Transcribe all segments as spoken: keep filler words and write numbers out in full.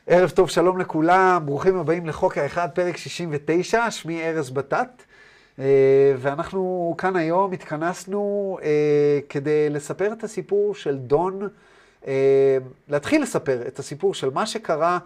ערב טוב, שלום לכולם, ברוכים הבאים לחוק האחד, פרק שישים ותשע, שמי ארז בטט, ואנחנו כאן היום התכנסנו כדי לספר את הסיפור של דון, להתחיל לספר את הסיפור של מה שקרה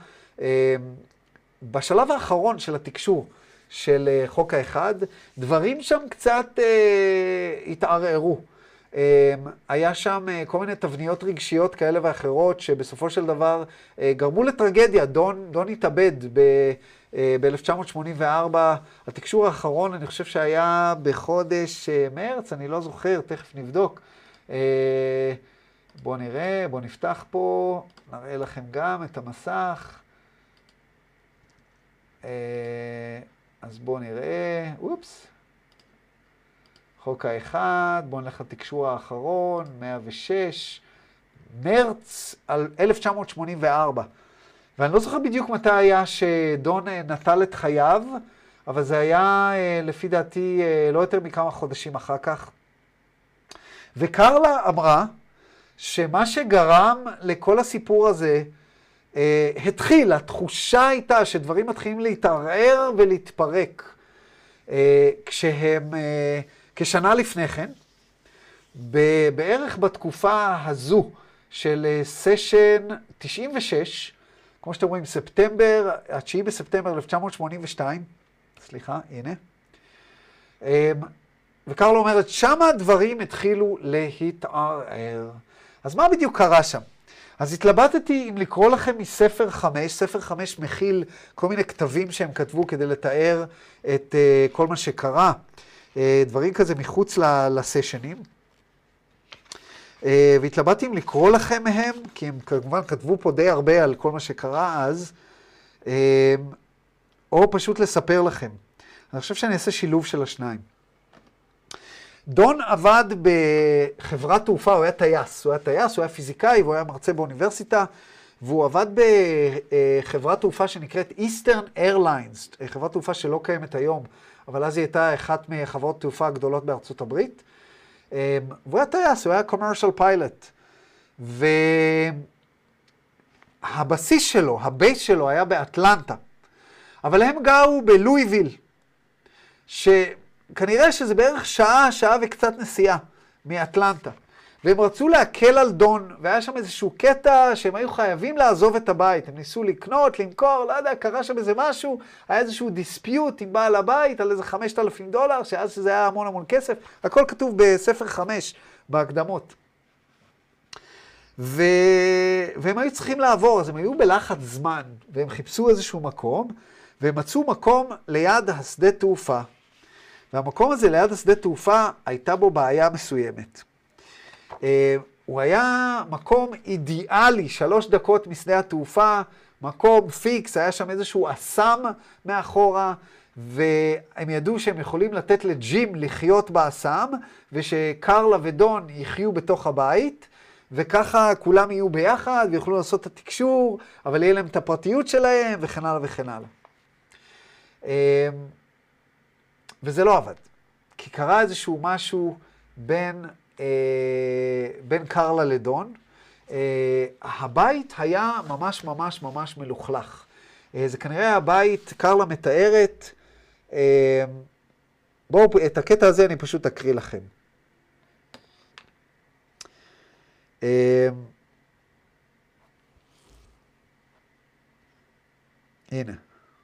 בשלב האחרון של התקשור של חוק האחד. דברים שם קצת התערערו. היה שם כל מיני תבניות רגשיות כאלה ואחרות שבסופו של דבר גרמו לטרגדיה. דון, דון התאבד ב-אלף תשע מאות שמונים וארבע. התקשור האחרון אני חושב שהיה בחודש מרץ, אני לא זוכר, תכף נבדוק. בואו נראה, בואו נפתח פה, נראה לכם גם את המסך. אז בואו נראה, אופס. חוק האחד, בואו נלך לתקשור האחרון, מאה ושש, מרץ אלף תשע מאות שמונים וארבע. ואני לא זוכר בדיוק מתי היה שדון נטל את חייו, אבל זה היה לפי דעתי לא יותר מכמה חודשים אחר כך. וקרלה אמרה שמה שגרם לכל הסיפור הזה, התחיל, התחושה הייתה שדברים מתחילים להתערער ולהתפרק. כשהם... כשנה לפני כן, בערך בתקופה הזו של סשן תשעים ושש, כמו שאתם רואים, ספטמבר, התשיעי בספטמבר אלף תשע מאות שמונים ושתיים, סליחה, הנה, וקרלה אומרת, שמה הדברים התחילו להתערער. אז מה בדיוק קרה שם? אז התלבטתי אם לקרוא לכם מספר חמש, ספר חמש מכיל כל מיני כתבים שהם כתבו כדי לתאר את uh, כל מה שקרה. דברים כזה מחוץ לסשנים. והתלבטתי אם לקרוא לכם מהם, כי הם כמובן כתבו פה די הרבה על כל מה שקרה אז, או פשוט לספר לכם. אני חושב שאני אעשה שילוב של השניים. דון עבד בחברת תעופה, הוא היה טייס, הוא היה טייס, הוא היה פיזיקאי, והוא היה מרצה באוניברסיטה, והוא עבד בחברת תעופה שנקראת Eastern Airlines, חברת תעופה שלא קיימת היום, אבל אז היא הייתה אחת מחברות תעופה הגדולות בארצות הברית. והוא היה טייס, הוא היה commercial pilot. והבסיס שלו, הבייס שלו היה באטלנטה. אבל הם גרו בלואיוויל, שכנראה שזה בערך שעה, שעה וקצת נסיעה מאטלנטה. והם רצו להקל על דון, והיה שם איזשהו קטע שהם היו חייבים לעזוב את הבית. הם ניסו לקנות, למכור, לא יודע, קרה שם איזה משהו, היה איזשהו דיספיוט עם בעל הבית על איזה חמשת אלפים דולר, שאז שזה היה המון המון כסף. הכל כתוב בספר חמש, בהקדמות. ו... והם היו צריכים לעבור, אז הם היו בלחץ זמן, והם חיפשו איזשהו מקום, והם מצאו מקום ליד השדה תעופה. והמקום הזה ליד השדה תעופה הייתה בו בעיה מסוימת. Uh, הוא היה מקום אידיאלי, שלוש דקות משדה התעופה, מקום פיקס, היה שם איזשהו אסם מאחורה, והם ידעו שהם יכולים לתת לג'ים לחיות באסם, ושקרלה ודון יחיו בתוך הבית, וככה כולם יהיו ביחד, ויוכלו לעשות את התקשור, אבל יהיה להם את הפרטיות שלהם, וכן הלאה וכן הלאה. Uh, וזה לא עבד, כי קרה איזשהו משהו בין... בין קרלה לדון. הבית היה ממש ממש ממש מלוכלך. זה כנראה הבית, קרלה מתארת, בואו, את הקטע הזה אני פשוט אקריא לכם. הנה.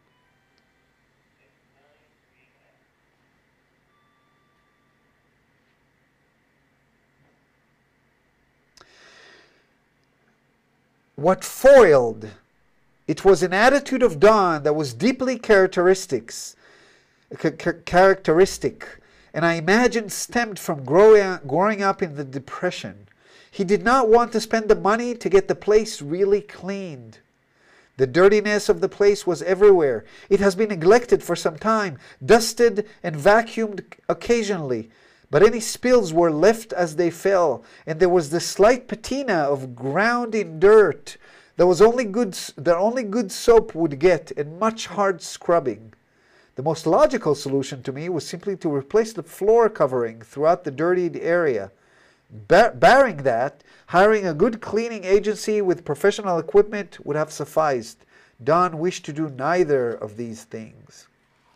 What foiled? It was an attitude of Don that was deeply characteristics, characteristic, and I imagine stemmed from growing, growing up in the Depression. He did not want to spend the money to get the place really cleaned. The dirtiness of the place was everywhere. It has been neglected for some time, dusted and vacuumed occasionally. But any spills were left as they fell, and there was the slight patina of ground in dirt that was only good, that only good soap would get, and much hard scrubbing. The most logical solution to me was simply to replace the floor covering throughout the dirtied area. Bar- barring that, hiring a good cleaning agency with professional equipment would have sufficed. Don wished to do neither of these things.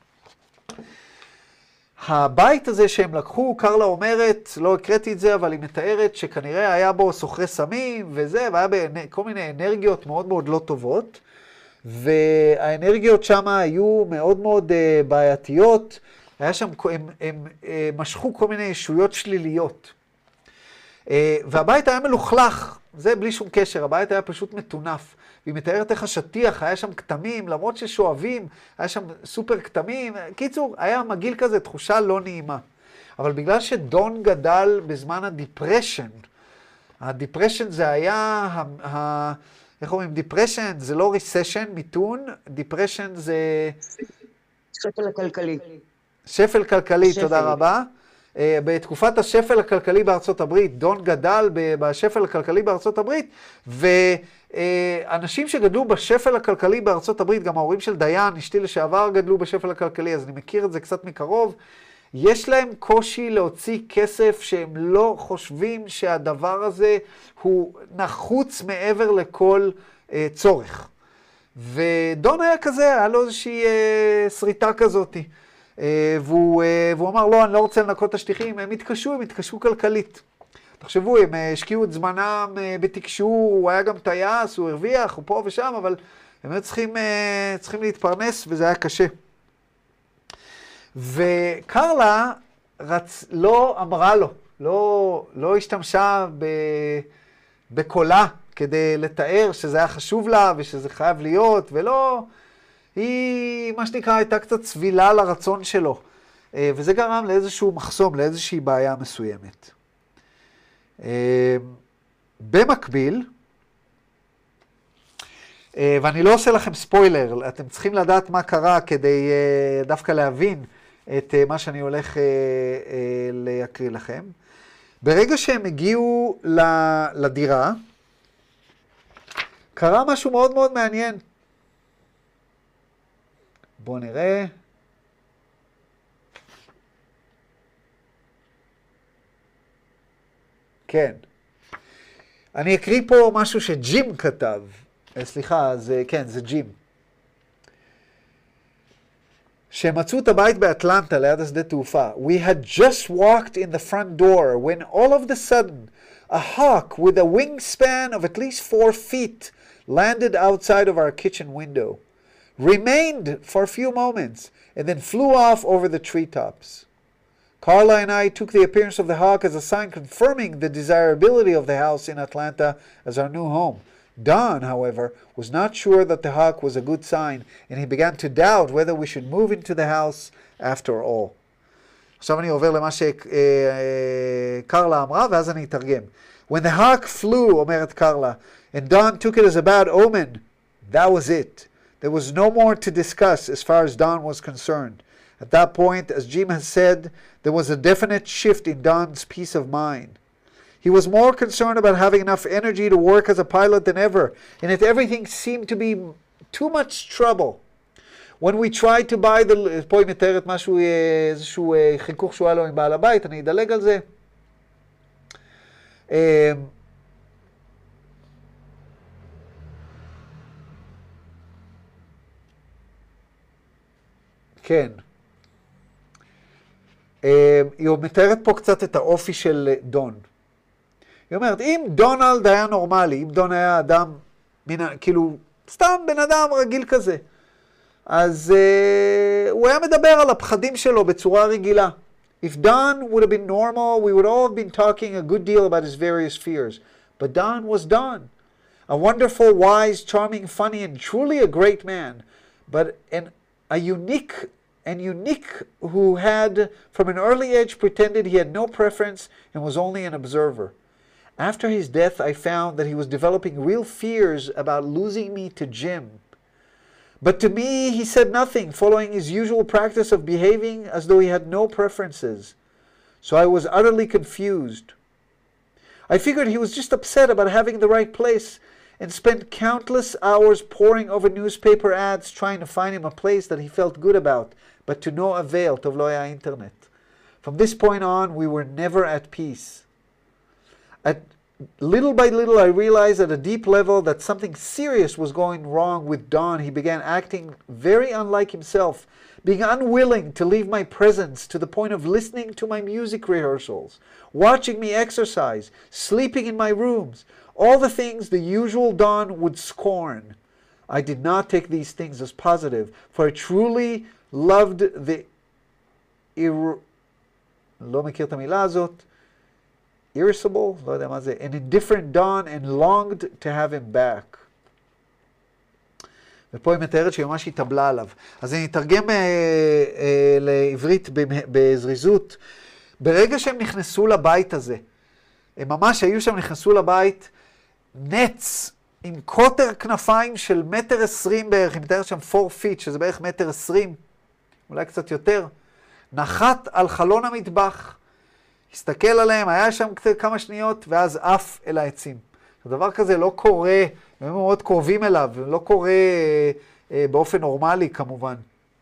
הבית הזה שהם לקחו, קרלה אומרת, לא הקראתי את זה, אבל היא מתארת שכנראה היה בו סוחרי סמים וזה, והיה כל מיני אנרגיות מאוד מאוד לא טובות, והאנרגיות שם היו מאוד מאוד uh, בעייתיות, היה שם, הם, הם uh, משכו כל מיני ישויות שליליות. Uh, והבית היה מלוכלך, זה בלי שום קשר, הבית היה פשוט מטונף. והיא מתארת איך השטיח, היה שם כתמים, למרות ששואבים, היה שם סופר כתמים. קיצור, היה מגעיל כזה, תחושה לא נעימה. אבל בגלל שדון גדל בזמן הדיפרשן, הדיפרשן זה היה, ה, ה, איך אומרים, דיפרשן זה לא ריסשן, מיתון, דיפרשן זה... שפל הכלכלי. שפל כלכלי, שפל. תודה רבה. Uh, בתקופת השפל הכלכלי בארצות הברית, דון גדל בשפל הכלכלי בארצות הברית, ואנשים שגדלו בשפל הכלכלי בארצות הברית, גם ההורים של דיין, אשתי לשעבר, גדלו בשפל הכלכלי, אז אני מכיר את זה קצת מקרוב, יש להם קושי להוציא כסף שהם לא חושבים שהדבר הזה הוא נחוץ מעבר לכל uh, צורך. ודון היה כזה, היה לו איזושהי uh, שריטה כזאת. Uh, והוא, uh, והוא אמר, לא, אני לא רוצה לנקות את השטיחים, הם התקשו, הם התקשו כלכלית. תחשבו, הם uh, השקיעו את זמנם uh, בתקשור, הוא היה גם טייס, הוא הרוויח, הוא פה ושם, אבל הם היו צריכים, uh, צריכים להתפרנס, וזה היה קשה. וקרלה רצ... לא אמרה לו, לא, לא השתמשה ב... בקולה כדי לתאר שזה היה חשוב לה ושזה חייב להיות, ולא... היא, מה שנקרא, הייתה קצת צבילה לרצון שלו, וזה גרם לאיזשהו מחסום, לאיזושהי בעיה מסוימת. במקביל, ואני לא עושה לכם ספוילר, אתם צריכים לדעת מה קרה כדי דווקא להבין את מה שאני הולך להקריא לכם. ברגע שהם הגיעו לדירה, קרה משהו מאוד מאוד מעניין. בואו נראה. כן. אני אקריא פה משהו שג'ים כתב. סליחה, זה, כן, זה ג'ים. שמצאו את הבית באטלנטה ליד השדה תעופה. We had just walked in the front door when all of the sudden a hawk with a wingspan of at least four feet landed outside of our kitchen window. Remained for a few moments, and then flew off over the treetops. Carla and I took the appearance of the hawk as a sign confirming the desirability of the house in Atlanta as our new home. Don, however, was not sure that the hawk was a good sign, and he began to doubt whether we should move into the house after all. עכשיו אני עובר למה שקרלה אמרה, ואז אני אתרגם. When the hawk flew, אומרת קרלה, and Don took it as a bad omen, that was it. There was no more to discuss as far as Don was concerned. At that point, as Jim has said, there was a definite shift in Don's peace of mind. He was more concerned about having enough energy to work as a pilot than ever, and yet everything seemed to be too much trouble. When we tried to buy the... פה היא מתארת משהו, איזשהו חיכוך שהוא היה לו עם בעל הבית, אני אדלג על זה. כן. היא מתארת פה קצת את האופי של דון. היא אומרת, אם דונלד היה נורמלי, אם דון היה אדם, כאילו, סתם בן אדם רגיל כזה, אז uh, הוא היה מדבר על הפחדים שלו בצורה רגילה. If Don would have been normal, we would all have been talking a good deal about his various fears. But Don was Don. A wonderful, wise, charming, funny, and truly a great man. But an, a unique, and unique who had, from an early age, pretended he had no preference and was only an observer. After his death, I found that he was developing real fears about losing me to Jim. But to me, he said nothing, following his usual practice of behaving as though he had no preferences. So I was utterly confused. I figured he was just upset about having the right place and spent countless hours poring over newspaper ads trying to find him a place that he felt good about, but to no avail, טוב לא היה אינטרנט. From this point on, we were never at peace. At, little by little I realized at a deep level that something serious was going wrong with Don. He began acting very unlike himself, being unwilling to leave my presence to the point of listening to my music rehearsals, watching me exercise, sleeping in my rooms, all the things the usual Don would scorn. I did not take these things as positive, for I truly loved the... Ir... לא מכיר את המילה הזאת. irritable, לא יודע מה זה, an indifferent Don and longed to have him back. ופה היא מתארת שהיא ממש התאבלה עליו. אז אני אתרגם אה, אה, לעברית בזריזות. ברגע שהם נכנסו לבית הזה, הם ממש היו שם, נכנסו לבית, נץ עם קוטר כנפיים של מטר עשרים בערך, היא מתארת שם ארבע פיט, שזה בערך מטר עשרים, אולי קצת יותר, נחת על חלון המטבח, הסתכל עליהם, היה שם כמה שניות, ואז עף אל העצים. הדבר כזה לא קורה, הם מאוד קרובים אליו, לא קורה אה, אה, באופן נורמלי כמובן.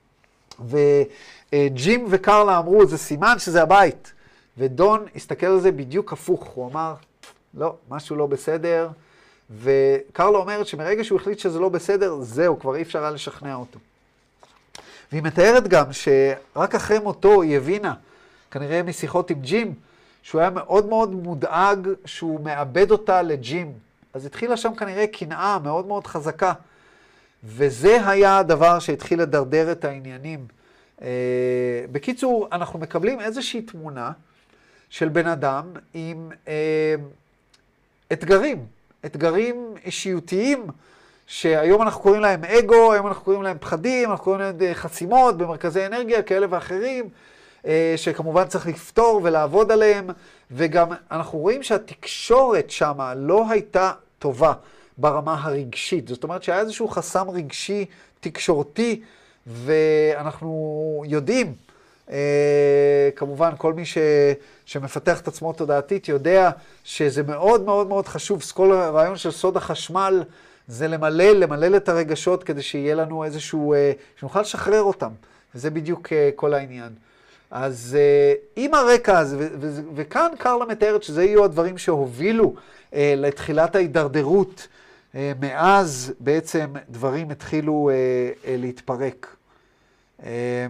וג'ים וקרלה אמרו, זה סימן שזה הבית. ודון הסתכל על זה בדיוק הפוך, הוא אמר, לא, משהו לא בסדר. וקרלה אומרת שמרגע שהוא החליט שזה לא בסדר, זהו, כבר אי אפשר היה לשכנע אותו. והיא מתארת גם שרק אחרי מותו היא הבינה, כנראה משיחות עם ג'ים, שהוא היה מאוד מאוד מודאג שהוא מאבד אותה לג'ים. אז התחילה שם כנראה קנאה מאוד מאוד חזקה. וזה היה הדבר שהתחיל לדרדר את העניינים. Uh, בקיצור, אנחנו מקבלים איזושהי תמונה של בן אדם עם uh, אתגרים, אתגרים אישיותיים, שהיום אנחנו קוראים להם אגו, היום אנחנו קוראים להם פחדים, אנחנו קוראים להם חסימות במרכזי אנרגיה כאלה ואחרים, שכמובן צריך לפתור ולעבוד עליהם, וגם אנחנו רואים שהתקשורת שמה לא הייתה טובה ברמה הרגשית. זאת אומרת שהיה איזשהו חסם רגשי תקשורתי, ואנחנו יודעים, כמובן כל מי ש, שמפתח את עצמו תודעתית יודע שזה מאוד מאוד מאוד חשוב. כל הרעיון של סוד החשמל זה למלא, למלא את הרגשות כדי שיהיה לנו איזשהו, שנוכל לשחרר אותם. וזה בדיוק כל העניין. אז uh, עם הרקע הזה, ו- ו- וכאן קרלה מתארת שזה יהיו הדברים שהובילו uh, לתחילת ההידרדרות, uh, מאז בעצם דברים התחילו uh, uh, להתפרק. Uh,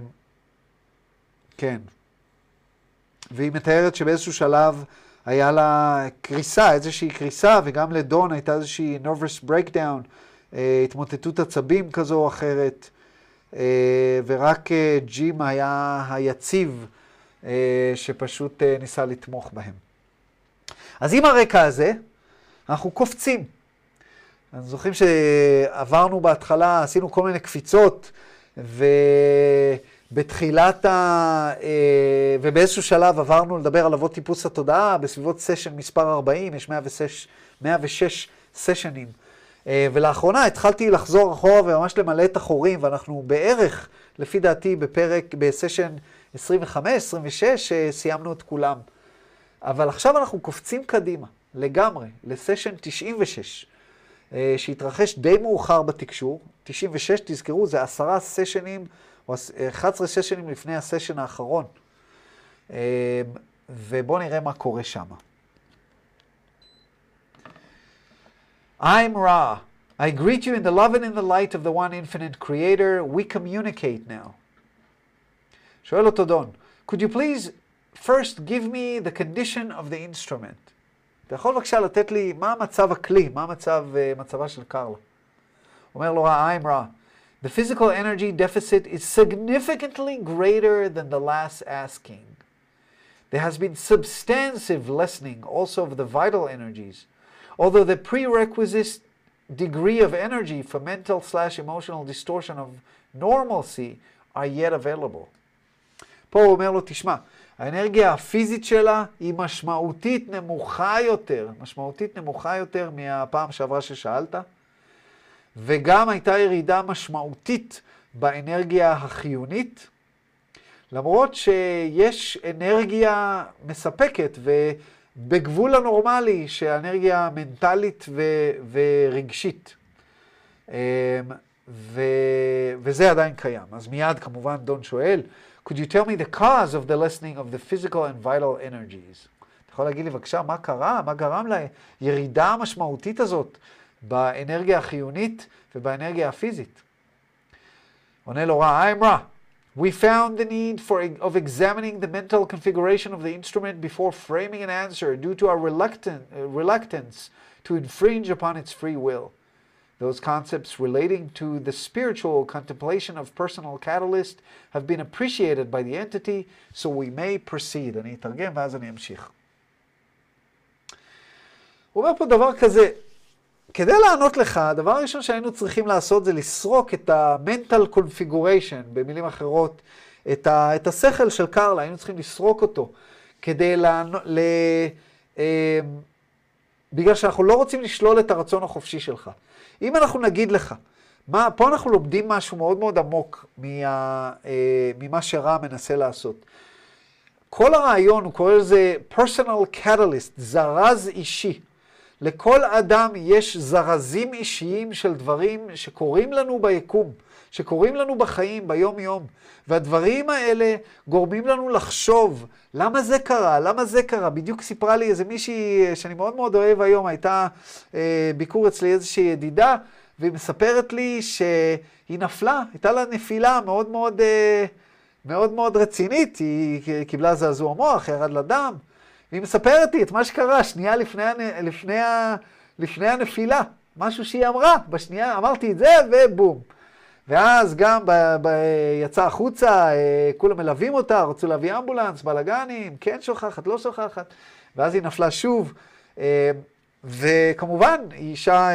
כן. והיא מתארת שבאיזשהו שלב היה לה קריסה, איזושהי קריסה, וגם לדון הייתה איזושהי nervous breakdown, uh, התמוטטות עצבים כזו או אחרת. Uh, ורק uh, ג'ים היה היציב uh, שפשוט uh, ניסה לתמוך בהם. אז עם הרקע הזה, אנחנו קופצים. אנחנו זוכרים שעברנו בהתחלה, עשינו כל מיני קפיצות, ובתחילת ה... Uh, ובאיזשהו שלב עברנו לדבר על אבות טיפוס התודעה, בסביבות סשן מספר ארבעים, יש מאה ושש סשנים. ולאחרונה התחלתי לחזור אחורה וממש למלא את החורים, ואנחנו בערך, לפי דעתי, בפרק, בסשן עשרים וחמש עשרים ושש, סיימנו את כולם. אבל עכשיו אנחנו קופצים קדימה, לגמרי, לסשן תשעים ושש, שהתרחש די מאוחר בתקשור. תשעים ושש, תזכרו, זה עשרה סשנים, או אחד עשר סשנים לפני הסשן האחרון. ובואו נראה מה קורה שם. I'm Ra. I greet you in the love and in the light of the one infinite creator. We communicate now. שואל אותו דון, could you please first give me the condition of the instrument? אתה יכול בבקשה לתת לי מה מצב הכלי, מה מצב, uh, מצבה של קרלה. אומר לו, I'm Ra. The physical energy deficit is significantly greater than the last asking. There has been substantive lessening also of the vital energies. Although the prerequisite degree of energy for mental slash emotional distortion of normalcy are yet available. פה הוא אומר לו, תשמע, האנרגיה הפיזית שלה היא משמעותית נמוכה יותר, משמעותית נמוכה יותר מהפעם שעברה ששאלת, וגם הייתה ירידה משמעותית באנרגיה החיונית, למרות שיש אנרגיה מספקת ו... בגבול הנורמלי שהאנרגיה מנטלית ו- ורגשית. ו- וזה עדיין קיים. אז מיד כמובן דון שואל, could you tell me the cause of the lessening of the physical and vital energies? אתה יכול להגיד לי בבקשה מה קרה? מה גרם לירידה המשמעותית הזאת באנרגיה החיונית ובאנרגיה הפיזית? עונה לו רע, I'm רע. We found the need for of examining the mental configuration of the instrument before framing an answer due to our reluctant, uh, reluctance to infringe upon its free will. Those concepts relating to the spiritual contemplation of personal catalyst have been appreciated by the entity, so we may proceed. אני אתרגם ואז אני אמשיך. הוא אומר פה דבר כזה, כדי לענות לך, הדבר הראשון שהיינו צריכים לעשות זה לסרוק את ה-mental configuration, במילים אחרות, את, ה- את השכל של קרלה, היינו צריכים לסרוק אותו, כדי לענות, ל... אה, בגלל שאנחנו לא רוצים לשלול את הרצון החופשי שלך. אם אנחנו נגיד לך, מה, פה אנחנו לומדים משהו מאוד מאוד עמוק מה, אה, ממה שרע מנסה לעשות. כל הרעיון, הוא קורא לזה personal catalyst, זרז אישי. לכל אדם יש זרזים אישיים של דברים שקורים לנו ביקום, שקורים לנו בחיים, ביום יום. והדברים האלה גורמים לנו לחשוב, למה זה קרה? למה זה קרה? בדיוק סיפרה לי איזה מישהי שאני מאוד מאוד אוהב היום, הייתה אה, ביקור אצלי איזושהי ידידה, והיא מספרת לי שהיא נפלה, הייתה לה נפילה מאוד מאוד, אה, מאוד מאוד רצינית, היא קיבלה זעזוע מוח, ירד לדם, והיא מספרת לי את מה שקרה שנייה לפני, לפני, לפני הנפילה, משהו שהיא אמרה, בשנייה אמרתי את זה ובום. ואז גם ב- ב- יצא החוצה, כולם מלווים אותה, רצו להביא אמבולנס, בלגנים, כן שוכחת, לא שוכחת, ואז היא נפלה שוב. וכמובן, היא אישה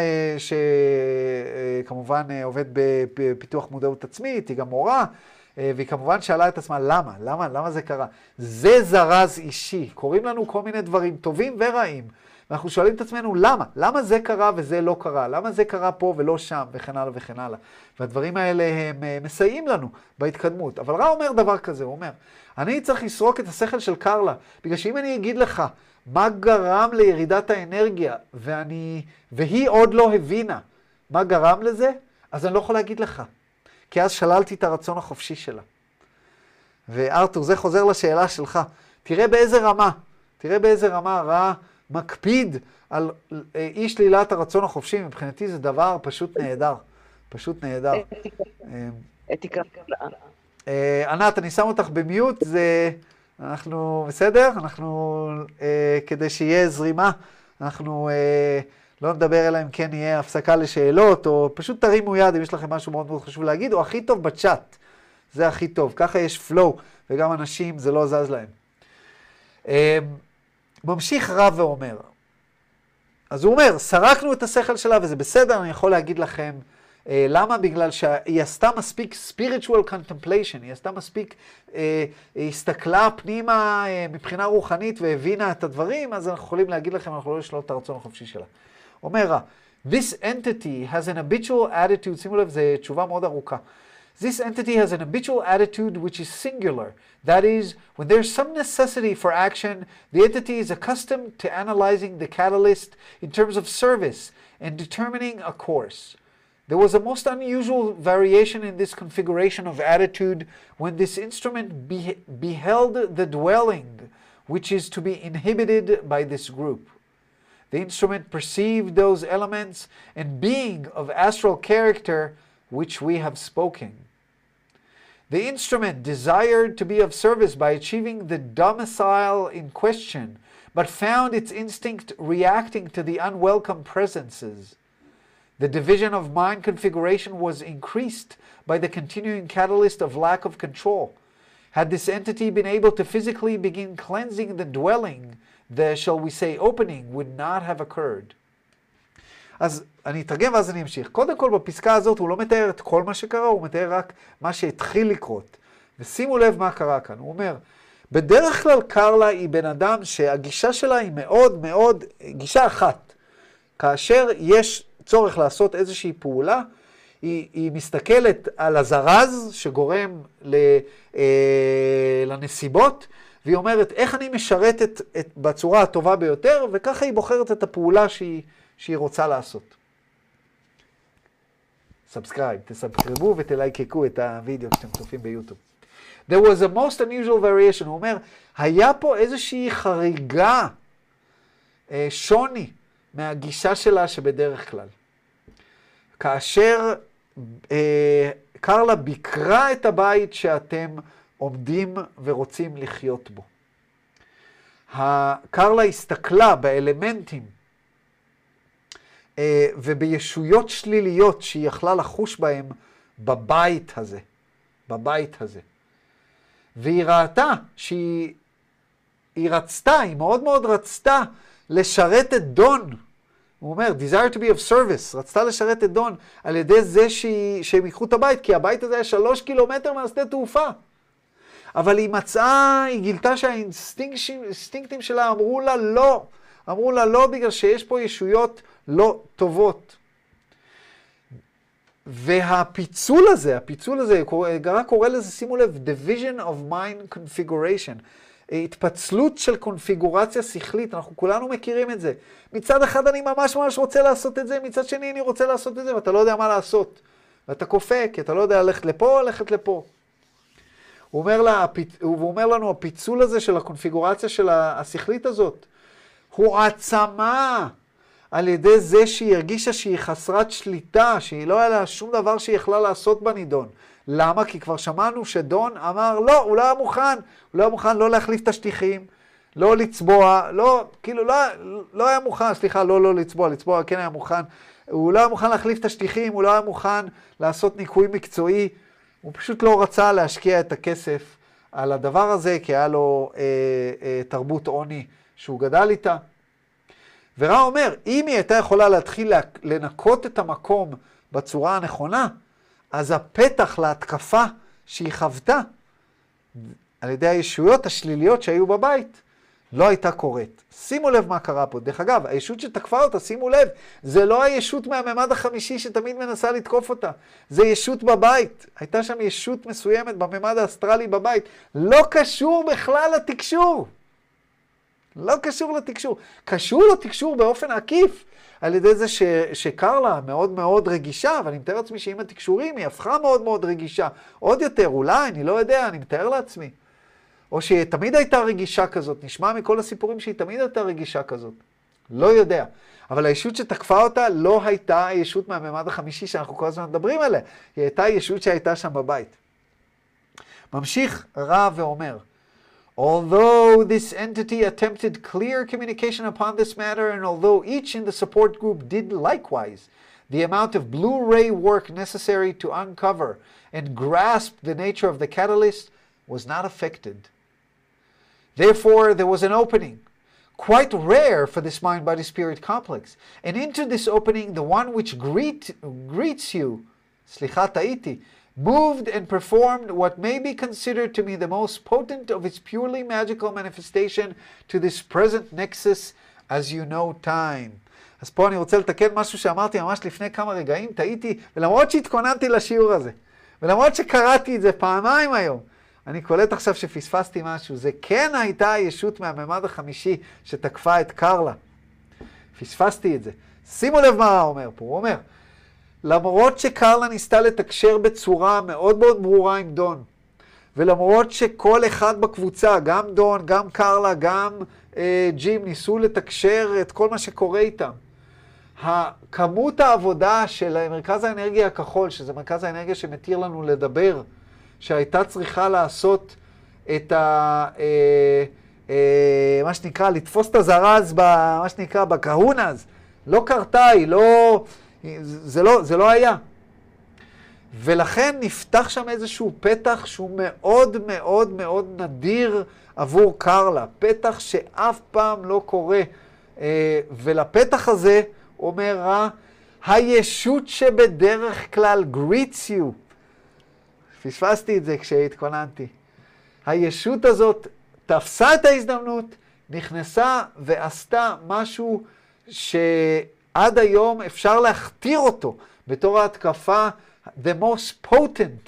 שכמובן עובד בפיתוח מודעות עצמית, היא גם מורה, והיא כמובן שאלה את עצמה, למה? למה? למה זה קרה? זה זרז אישי. קוראים לנו כל מיני דברים טובים ורעים. ואנחנו שואלים את עצמנו, למה? למה זה קרה וזה לא קרה? למה זה קרה פה ולא שם? וכן הלאה וכן הלאה. והדברים האלה הם מסייעים לנו בהתקדמות. אבל רע אומר דבר כזה, הוא אומר, אני צריך לסרוק את השכל של קרלה, בגלל שאם אני אגיד לך, מה גרם לירידת האנרגיה, ואני, והיא עוד לא הבינה מה גרם לזה, אז אני לא יכול להגיד לך. כי אז שללתי את הרצון החופשי שלה. וארתור, זה חוזר לשאלה שלך. תראה באיזה רמה, תראה באיזה רמה רע מקפיד על אי שלילת הרצון החופשי. מבחינתי זה דבר פשוט נהדר. פשוט נהדר. אתיקה. ענת, אני שם אותך במיוט, זה... אנחנו בסדר? אנחנו, כדי שיהיה זרימה, אנחנו לא נדבר אלא אם כן יהיה הפסקה לשאלות, או פשוט תרימו יד אם יש לכם משהו מאוד מאוד חשוב להגיד, או הכי טוב בצ'אט. זה הכי טוב. ככה יש פלואו, וגם אנשים זה לא זז להם. ממשיך רב ואומר. אז הוא אומר, סרקנו את השכל שלה וזה בסדר, אני יכול להגיד לכם למה? בגלל שהיא עשתה מספיק spiritual contemplation, היא עשתה מספיק, היא הסתכלה פנימה מבחינה רוחנית והבינה את הדברים, אז אנחנו יכולים להגיד לכם, אנחנו לא לשלול את הרצון החופשי שלה. אומר, this entity has an habitual attitude, שימו לב, זו תשובה מאוד ארוכה. This entity has an habitual attitude which is singular. That is, when there's some necessity for action, the entity is accustomed to analyzing the catalyst in terms of service and determining a course. There was a most unusual variation in this configuration of attitude when this instrument be- beheld the dwelling, which is to be inhibited by this group. The instrument perceived those elements and being of astral character which we have spoken. The instrument desired to be of service by achieving the domicile in question, but found its instinct reacting to the unwelcome presences. The division of mind configuration was increased by the continuing catalyst of lack of control. Had this entity been able to physically begin cleansing the dwelling, the, shall we say, opening would not have occurred. אז אני אתרגם ואז אני אמשיך. קודם כל בפסקה הזאת הוא לא מתאר את כל מה שקרה, הוא מתאר רק מה שהתחיל לקרות. ושימו לב מה קרה כאן. הוא אומר, בדרך כלל קרלה היא בן אדם שהגישה שלה היא מאוד מאוד, גישה אחת. כאשר יש צורך לעשות איזושהי פעולה, היא, היא מסתכלת על הזרז שגורם ל, אה, לנסיבות, והיא אומרת איך אני משרתת את, בצורה הטובה ביותר, וככה היא בוחרת את הפעולה שהיא, שהיא רוצה לעשות. סאבסקרייב, תסבסקריבו ותלייקקו את הוידאו כשאתם צופים ביוטיוב. There was a most unusual variation, הוא אומר, היה פה איזושהי חריגה אה, שוני מהגישה שלה שבדרך כלל. כאשר אה, קרלה ביקרה את הבית שאתם עומדים ורוצים לחיות בו. קרלה הסתכלה באלמנטים אה, ובישויות שליליות שהיא יכלה לחוש בהם בבית הזה. בבית הזה. והיא ראתה שהיא היא רצתה, היא מאוד מאוד רצתה לשרת את דון. הוא אומר, desire to be of service, רצתה לשרת את דון על ידי זה שהיא, שהם ייקחו את הבית, כי הבית הזה היה שלוש קילומטר מהשדה תעופה. אבל היא מצאה, היא גילתה שהאינסטינקטים שלה אמרו לה לא. אמרו לה לא בגלל שיש פה ישויות לא טובות. והפיצול הזה, הפיצול הזה, רק קורא לזה, שימו לב, division of mind configuration. התפצלות של קונפיגורציה שכלית, אנחנו כולנו מכירים את זה. מצד אחד אני ממש ממש רוצה לעשות את זה, מצד שני אני רוצה לעשות את זה, ואתה לא יודע מה לעשות. ואתה קופא, כי אתה לא יודע ללכת לפה או ללכת לפה. הוא אומר, לה, הוא אומר לנו, הפיצול הזה של הקונפיגורציה של השכלית הזאת, הוא העצמה על ידי זה שהיא הרגישה שהיא חסרת שליטה, שהיא לא היה לה שום דבר שהיא יכלה לעשות בנידון. למה? כי כבר שמענו שדון אמר, לא, הוא לא היה מוכן, הוא לא היה מוכן לא להחליף את השטיחים, לא לצבוע, לא, כאילו, לא, לא היה מוכן, סליחה, לא, לא לצבוע, לצבוע כן היה מוכן, הוא לא היה מוכן להחליף את השטיחים, הוא לא היה מוכן לעשות ניקוי מקצועי, הוא פשוט לא רצה להשקיע את הכסף על הדבר הזה, כי היה לו אה, אה, תרבות עוני שהוא גדל איתה. ורע אומר, אם היא הייתה יכולה להתחיל לנקות את המקום בצורה הנכונה, אז הפתח להתקפה שהיא חוותה על ידי הישויות השליליות שהיו בבית, לא הייתה קורית. שימו לב מה קרה פה. דרך אגב, הישות שתקפה אותה, שימו לב, זה לא הישות מהממד החמישי שתמיד מנסה לתקוף אותה. זה ישות בבית. הייתה שם ישות מסוימת בממד האסטרלי בבית. לא קשור בכלל לתקשור. לא קשור לתקשור. קשור לתקשור באופן עקיף. על ידי זה ש, שקרלה מאוד מאוד רגישה, אבל אני מתאר לעצמי שעם התקשורים היא הפכה מאוד מאוד רגישה. עוד יותר, אולי, אני לא יודע, אני מתאר לעצמי. או שהיא תמיד הייתה רגישה כזאת, נשמע מכל הסיפורים שהיא תמיד הייתה רגישה כזאת. לא יודע. אבל הישות שתקפה אותה לא הייתה הישות מהממד החמישי שאנחנו כל הזמן מדברים עליה. היא הייתה הישות שהייתה שם בבית. ממשיך רע ואומר, although this entity attempted clear communication upon this matter, and although each in the support group did likewise, the amount of Blu-ray work necessary to uncover and grasp the nature of the catalyst was not affected. Therefore, there was an opening, quite rare for this mind-body-spirit complex, and into this opening, the one which greet, greets you, slicha ta'iti, moved and performed what may be considered to be the most potent of its purely magical manifestation to this present nexus, as you know time. אז פה אני רוצה לתקן משהו שאמרתי ממש לפני כמה רגעים, טעיתי, ולמרות שהתכוננתי לשיעור הזה, ולמרות שקראתי את זה פעמיים היום, אני קולט עכשיו שפספסתי משהו. זה כן הייתה הישות מהממד החמישי שתקפה את קרלה. פספסתי את זה. שימו לב מה הוא אומר פה. הוא אומר, למרות שקרלה ניסתה לתקשר בצורה מאוד מאוד ברורה עם דון, ולמרות שכל אחד בקבוצה, גם דון, גם קרלה, גם אה, ג'ים, ניסו לתקשר את כל מה שקורה איתם, הכמות העבודה של מרכז האנרגיה הכחול, שזה מרכז האנרגיה שמתיר לנו לדבר, שהייתה צריכה לעשות את ה... אה, אה, מה שנקרא, לתפוס את הזרז, ב, מה שנקרא, בקהונז, לא קרתה, היא לא... זה לא, זה לא היה. ולכן נפתח שם איזשהו פתח שהוא מאוד מאוד מאוד נדיר עבור קרלה. פתח שאף פעם לא קורה. ולפתח הזה אומר רע, הישות שבדרך כלל greets you. פספסתי את זה כשהתכוננתי. הישות הזאת תפסה את ההזדמנות, נכנסה ועשתה משהו ש... עד היום אפשר להכתיר אותו בתור ההתקפה the most potent,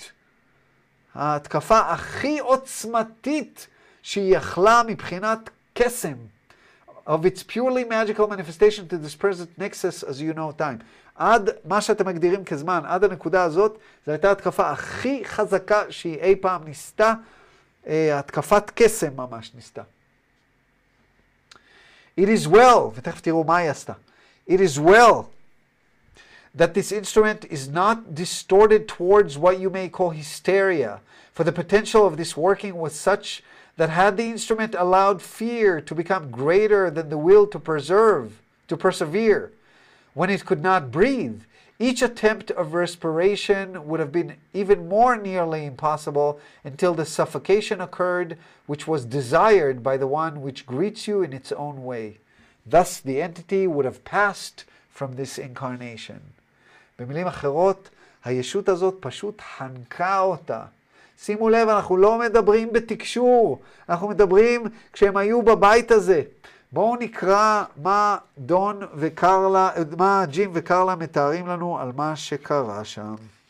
ההתקפה הכי עוצמתית שהיא יכלה מבחינת קסם, of its purely magical manifestation to this present nexus as you know time. עד מה שאתם מגדירים כזמן, עד הנקודה הזאת, זו הייתה ההתקפה הכי חזקה שהיא אי פעם ניסתה, התקפת קסם ממש ניסתה. It is well, ותכף תראו מה היא עשתה. It is well that this instrument is not distorted towards what you may call hysteria, for the potential of this working was such that had the instrument allowed fear to become greater than the will to preserve, to persevere, when it could not breathe, each attempt of respiration would have been even more nearly impossible until the suffocation occurred, which was desired by the one which greets you in its own way. Thus the entity would have passed from this incarnation. במילים אחרות, הישות הזאת פשוט חנקה אותה. שימו לב, אנחנו לא מדברים בתקשור, אנחנו מדברים כשהם היו בבית הזה. בואו נקרא מה דון וקרלה, מה ג'ים וקרלה מתארים לנו על מה שקרה שם.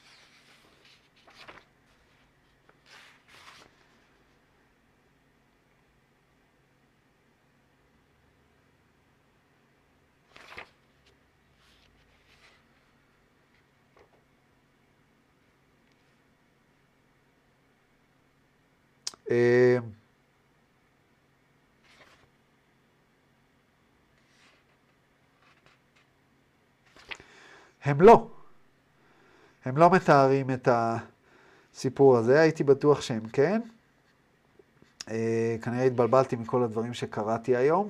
הם לא. הם לא מתארים את הסיפור הזה. הייתי בטוח שהם כן. כנראה התבלבלתי מכל הדברים שקראתי היום.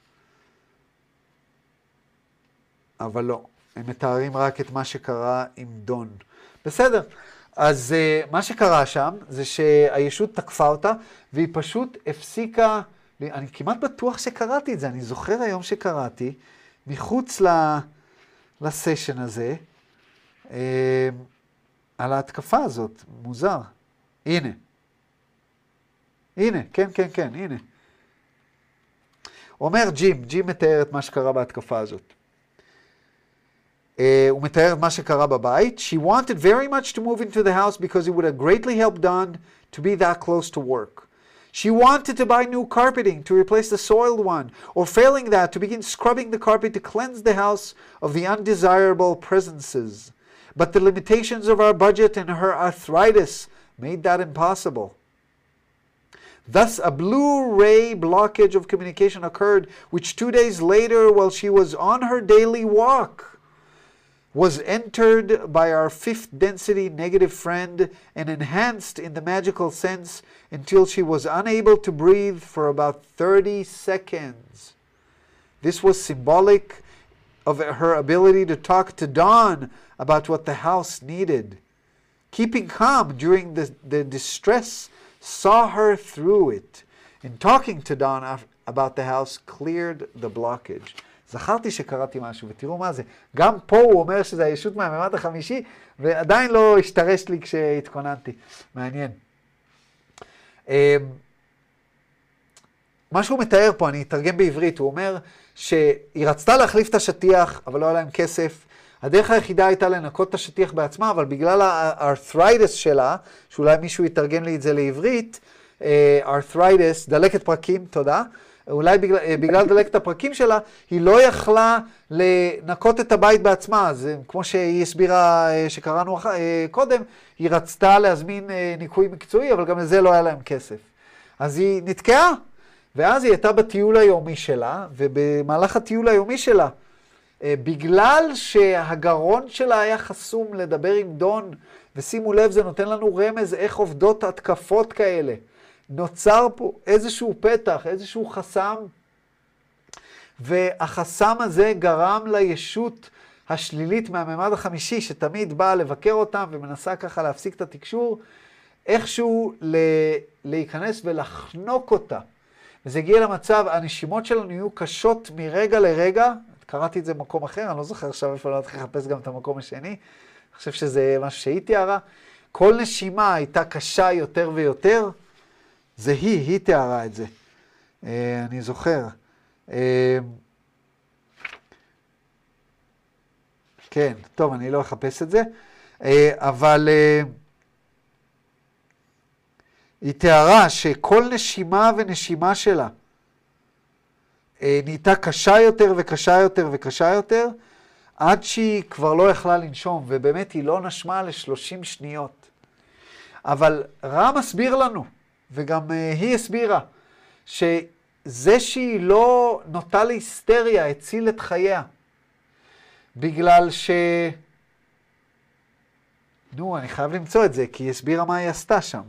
אבל לא. הם מתארים רק את מה שקרה עם דון. בסדר. אז uh, מה שקרה שם זה שהישות תקפה אותה, והיא פשוט הפסיקה, אני כמעט בטוח שקראתי את זה, אני זוכר היום שקראתי, מחוץ ל, לסשן הזה, uh, על ההתקפה הזאת, מוזר. הנה. הנה, כן, כן, כן, הנה. אומר ג'ים, ג'ים מתאר את מה שקרה בהתקפה הזאת. Uh, הוא מתאר את מה שקרה בבית. She wanted very much to move into the house because it would have greatly helped Don to be that close to work. She wanted to buy new carpeting to replace the soiled one, or failing that, to begin scrubbing the carpet to cleanse the house of the undesirable presences. But the limitations of our budget and her arthritis made that impossible. Thus, a blue-ray blockage of communication occurred, which two days later, while she was on her daily walk, was entered by our fifth density negative friend and enhanced in the magical sense until she was unable to breathe for about thirty seconds. This was symbolic of her ability to talk to Don about what the house needed. Keeping calm during the, the distress saw her through it, and talking to Don about the house cleared the blockage. זכרתי שקראתי משהו, ותראו מה זה. גם פה הוא אומר שזה הישות מהממד החמישי, ועדיין לא השתרש לי כשהתכוננתי. מעניין. מה שהוא מתאר פה, אני אתרגם בעברית, הוא אומר שהיא רצתה להחליף את השטיח, אבל לא היה להם כסף. הדרך היחידה הייתה לנקות את השטיח בעצמה, אבל בגלל הארת'רייטס שלה, שאולי מישהו יתרגם לי את זה לעברית, ארת'רייטס, דלקת פרקים, תודה. אולי בגלל, בגלל דלקת הפרקים שלה, היא לא יכלה לנקות את הבית בעצמה. אז כמו שהיא הסבירה שקראנו קודם, היא רצתה להזמין ניקוי מקצועי, אבל גם לזה לא היה להם כסף. אז היא נתקעה, ואז היא הייתה בטיול היומי שלה, ובמהלך הטיול היומי שלה, בגלל שהגרון שלה היה חסום לדבר עם דון, ושימו לב, זה נותן לנו רמז איך עובדות התקפות כאלה. נוצר פה איזשהו פתח, איזשהו חסם, והחסם הזה גרם לישות השלילית מהממד החמישי, שתמיד באה לבקר אותם ומנסה ככה להפסיק את התקשור, איכשהו להיכנס ולחנוק אותה. וזה הגיע למצב, הנשימות שלנו יהיו קשות מרגע לרגע, קראתי את זה במקום אחר, אני לא זוכר עכשיו איפה לא צריך לחפש גם את המקום השני, אני חושב שזה משהו שהיא תיארה, כל נשימה הייתה קשה יותר ויותר, זה היא, היא תיארה את זה. אה, אני זוכר. אה, כן, טוב, אני לא אחפש את זה. אה, אבל אה, היא תיארה שכל נשימה ונשימה שלה אה, נהייתה קשה יותר וקשה יותר וקשה יותר, עד שהיא כבר לא יכלה לנשום, ובאמת היא לא נשמה ל-שלושים שניות. אבל רע מסביר לנו, וגם uh, היא הסבירה, שזה זה שהיא לא נוטה להיסטריה, הציל את חייה. בגלל ש... נו, אני חייב למצוא את זה, כי היא הסבירה מה היא עשתה שם.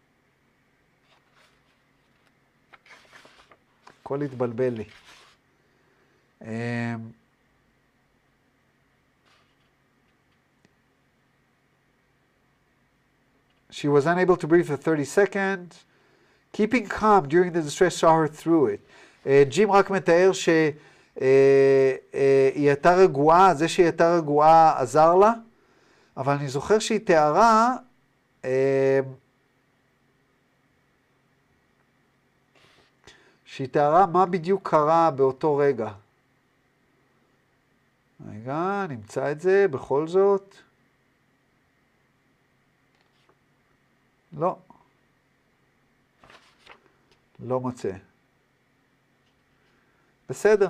הכל התבלבל לי. She was unable to breathe for thirty seconds. Keeping calm during the distress saw her through it. ג'ים רק מתאר שהיא הייתה רגועה, זה שהיא הייתה רגועה עזר לה, אבל אני זוכר שהיא תיארה, שהיא תיארה מה בדיוק קרה באותו רגע. רגע, נמצא את זה בכל זאת. לא. לא מוצא. בסדר.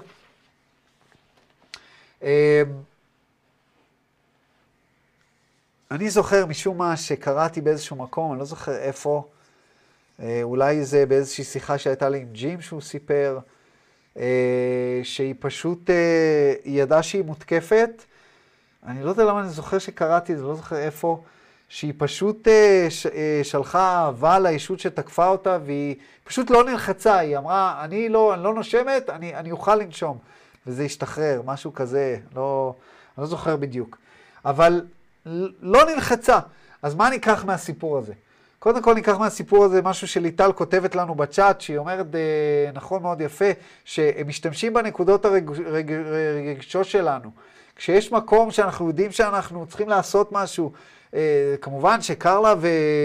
אני זוכר משום מה שקראתי באיזשהו מקום, אני לא זוכר איפה, אולי זה באיזושהי שיחה שהייתה לי עם ג'ים שהוא סיפר, שהיא פשוט, היא ידעה שהיא מותקפת, אני לא יודע למה אני זוכר שקראתי, אני לא זוכר איפה, שהיא פשוט שלחה אהבה לישות שתקפה אותה, והיא פשוט לא נלחצה, היא אמרה, אני לא, אני לא נושמת, אני, אני אוכל לנשום, וזה השתחרר, משהו כזה, לא, אני לא זוכר בדיוק. אבל לא נלחצה. אז מה ניקח מהסיפור הזה? קודם כל ניקח מהסיפור הזה משהו שליטל כותבת לנו בצ'אט, שהיא אומרת, נכון מאוד יפה, שהם משתמשים בנקודות הרגישות שלנו. כשיש מקום שאנחנו יודעים שאנחנו צריכים לעשות משהו, כמובן שקרלה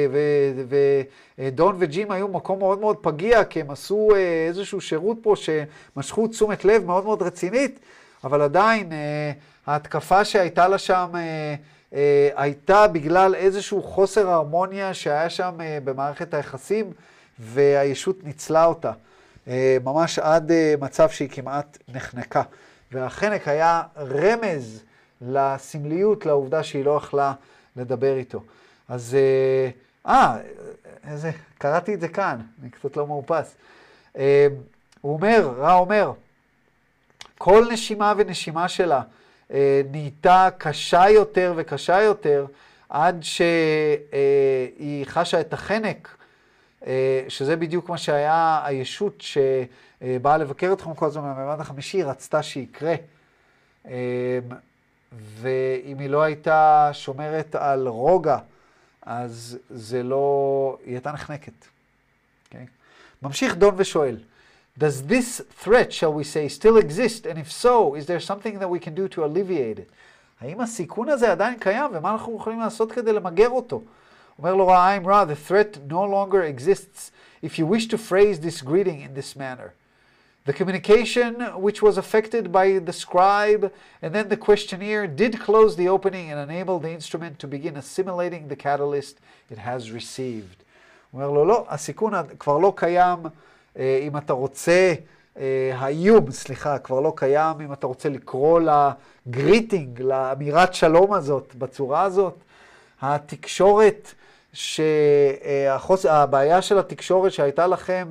ודון וג'ים היו מקום מאוד מאוד פגיע, כי הם עשו איזשהו שירות פה שמשכו תשומת לב מאוד מאוד רצינית, אבל עדיין ההתקפה שהייתה לה שם הייתה בגלל איזשהו חוסר הרמוניה שהיה שם במערכת היחסים, והישות ניצלה אותה, ממש עד מצב שהיא כמעט נחנקה. והחנק היה רמז לסמליות, לעובדה שהיא לא יכלה לדבר איתו. אז, אה, איזה, קראתי את זה כאן, אני קצת לא מאופס. אה, הוא אומר, רע אומר, כל נשימה ונשימה שלה אה, נהייתה קשה יותר וקשה יותר, עד שהיא חשה את החנק, אה, שזה בדיוק מה שהיה הישות שבאה לבקר אתכם כל הזמן מהמימד החמישי, רצתה שיקרה. אה, ואם היא לא הייתה שומרת על רוגע, אז זה לא, היא הייתה נחנקת. Okay? ממשיך דון ושואל, Does this threat, shall we say, still exist? And if so, is there something that we can do to alleviate it? האם הסיכון הזה עדיין קיים, ומה אנחנו יכולים לעשות כדי למגר אותו? אומר לו רע, I'm Ra, the threat no longer exists if you wish to phrase this greeting in this manner. The communication which was affected by the scribe and then the questionnaire did close the opening and enable the instrument to begin assimilating the catalyst it has received. הוא אומר לו, לא, הסיכון כבר לא קיים, אם אתה רוצה, האיום, סליחה, כבר לא קיים, אם אתה רוצה לקרוא לגריטינג, לאמירת שלום הזאת, בצורה הזאת. התקשורת, שהחוס... הבעיה של התקשורת שהייתה לכם,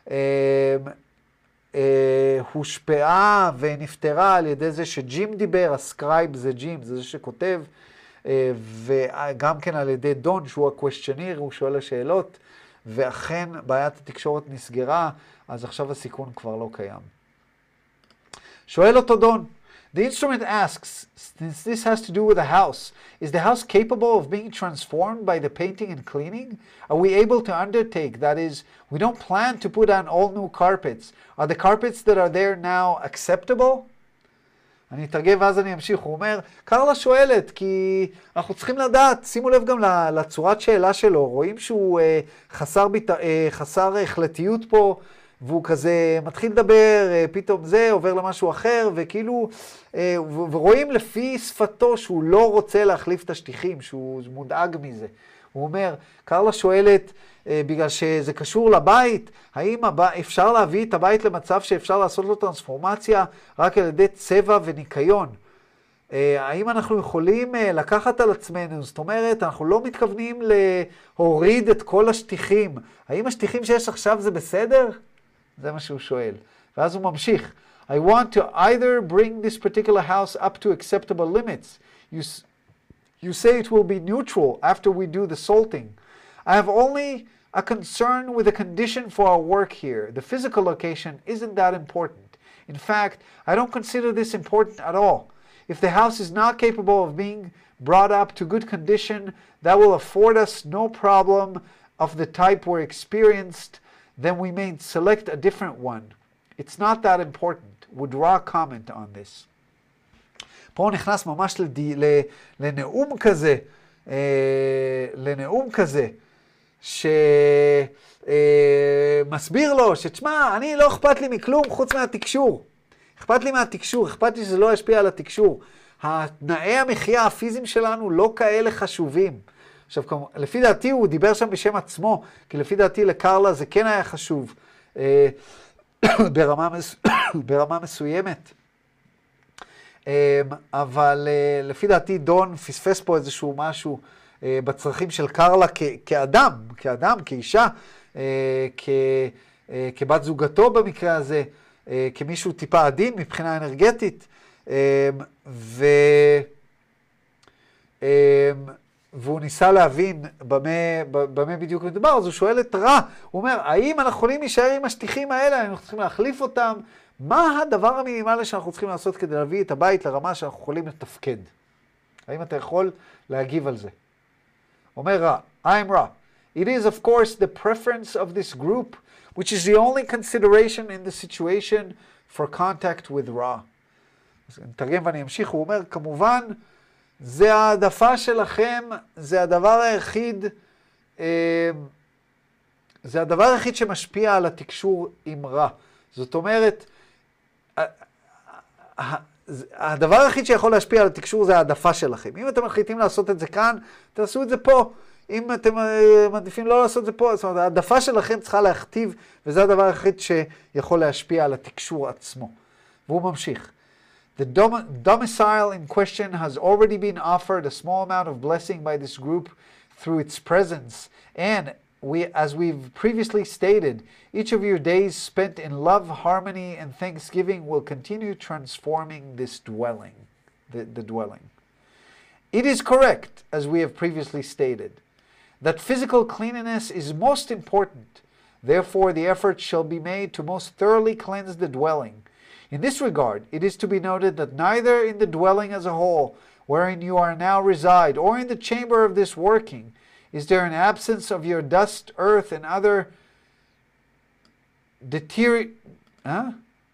הושפעה ונפטרה על ידי זה שג'ים דיבר, הסקרייב זה ג'ים, זה זה שכותב, וגם כן על ידי דון, שהוא הקוושטיוניר, הוא שואל השאלות, ואכן בעיית התקשורת נסגרה, אז עכשיו הסיכון כבר לא קיים. שואל אותו דון, The instrument asks, since this has to do with the house, is the house capable of being transformed by the painting and cleaning? Are we able to undertake, that is, we don't plan to put on all new carpets. Are the carpets that are there now acceptable? אני אתרגם ואז אני אמשיך. הוא אומר, קרלה שואלת, כי אנחנו צריכים לדעת, שימו לב גם לצורת שאלה שלו, רואים שהוא אה, חסר, ביט... אה, חסר החלטיות פה, והוא כזה מתחיל לדבר, פתאום זה עובר למשהו אחר, וכאילו, ורואים לפי שפתו שהוא לא רוצה להחליף את השטיחים, שהוא מודאג מזה. הוא אומר, קרלה שואלת, בגלל שזה קשור לבית, האם אפשר להביא את הבית למצב שאפשר לעשות לו טרנספורמציה רק על ידי צבע וניקיון? האם אנחנו יכולים לקחת על עצמנו? זאת אומרת, אנחנו לא מתכוונים להוריד את כל השטיחים. האם השטיחים שיש עכשיו זה בסדר? זה מה שהוא שואל. ואז הוא ממשיך. I want to either bring this particular house up to acceptable limits. You, you say it will be neutral after we do the salting. I have only a concern with the condition for our work here. The physical location isn't that important. In fact, I don't consider this important at all. If the house is not capable of being brought up to good condition, that will afford us no problem of the type we're experienced, then we may select a different one. It's not that important. Would Ra comment on this? פה הוא נכנס ממש לדי, לנאום כזה, אה, לנאום כזה, שמסביר לו שתשמע, אני לא אכפת לי מכלום חוץ מהתקשור. אכפת לי מהתקשור, אכפת לי שזה לא ישפיע על התקשור. התנאי המחיה הפיזיים שלנו לא כאלה חשובים. עכשיו, לפי דעתי הוא דיבר שם בשם עצמו, כי לפי דעתי לקרלה זה כן היה חשוב, אה, ברמה, מס... ברמה מסוימת. אבל לפי דעתי דון פספס פה איזשהו משהו בצרכים של קרלה כ- כאדם, כאדם, כאישה, כ- כבת זוגתו במקרה הזה, כמישהו טיפה עדין מבחינה אנרגטית, ו... והוא ניסה להבין במה, במה בדיוק מדובר, אז הוא שואל את רע, הוא אומר, האם אנחנו יכולים להישאר עם השטיחים האלה, אנחנו צריכים להחליף אותם, מה הדבר המינימלי שאנחנו צריכים לעשות כדי להביא את הבית לרמה שאנחנו יכולים לתפקד? האם אתה יכול להגיב על זה? אומר רע, I'm רע. It is of course the preference of this group, which is the only consideration in the situation for contact with רע. אז נתרגם ואני אמשיך, הוא אומר, כמובן, זה העדפה שלכם, זה הדבר היחיד, זה הדבר היחיד שמשפיע על התקשור עם רע. זאת אומרת, הדבר היחיד שיכול להשפיע על התקשור זה העדפה שלכם. אם אתם מחליטים לעשות את זה כאן, תעשו את זה פה. אם אתם מעדיפים לא לעשות את זה פה, זאת אומרת, העדפה שלכם צריכה להכתיב, וזה הדבר היחיד שיכול להשפיע על התקשור עצמו. והוא ממשיך. The dom- domicile in question has already been offered a small amount of blessing by this group through its presence. And we, as we've previously stated, each of your days spent in love, harmony, and thanksgiving will continue transforming this dwelling, the, the dwelling. It is correct, as we have previously stated, that physical cleanliness is most important. Therefore, the effort shall be made to most thoroughly cleanse the dwelling. In this regard, it is to be noted that neither in the dwelling as a whole, wherein you are now reside, or in the chamber of this working, is there an absence of your dust, earth, and other deterior... Huh?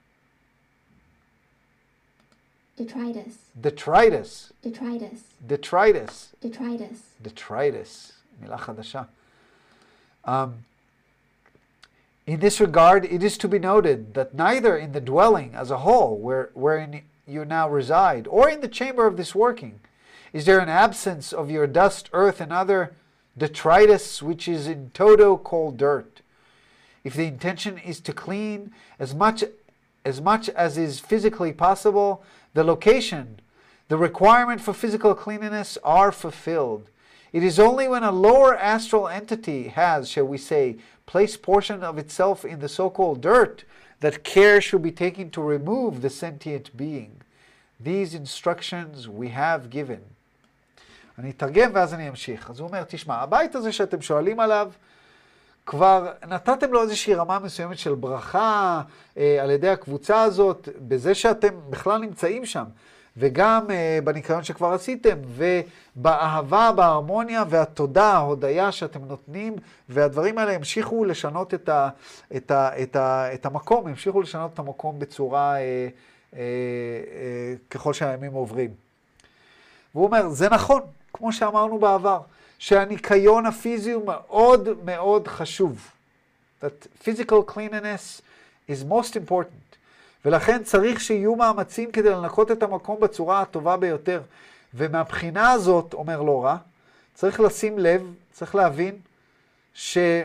Detritus. Detritus. Detritus. Detritus. Detritus. Detritus. מילה חדשה. Um, In this regard, it is to be noted that neither in the dwelling as a whole, where, wherein you now reside, or in the chamber of this working, is there an absence of your dust, earth, and other detritus, which is in toto called dirt. If the intention is to clean as much, as much as is physically possible, the location, the requirement for physical cleanliness are fulfilled. It is only when a lower astral entity has, shall we say, placed portion of itself in the so-called dirt that care should be taken to remove the sentient being. These instructions we have given. אני אתרגם ואז אני אמשיך. אז הוא אומר, תשמע, הבית הזה שאתם שואלים עליו, כבר נתתם לו איזושהי רמה מסוימת של ברכה אה, על ידי הקבוצה הזאת, בזה שאתם בכלל נמצאים שם. וגם uh, בניקיון שכבר עשיתם, ובאהבה, בהרמוניה והתודה, ההודיה שאתם נותנים, והדברים האלה המשיכו לשנות את, ה, את, ה, את, ה, את המקום, המשיכו לשנות את המקום בצורה, uh, uh, uh, ככל שהימים עוברים. והוא אומר, זה נכון, כמו שאמרנו בעבר, שהניקיון הפיזי הוא מאוד מאוד חשוב. That physical cleanliness is most important. ולכן צריך שיהיו מאמצים כדי לנקות את המקום בצורה הטובה ביותר. ומהבחינה הזאת, אומר לא רע, צריך לשים לב, צריך להבין, שגם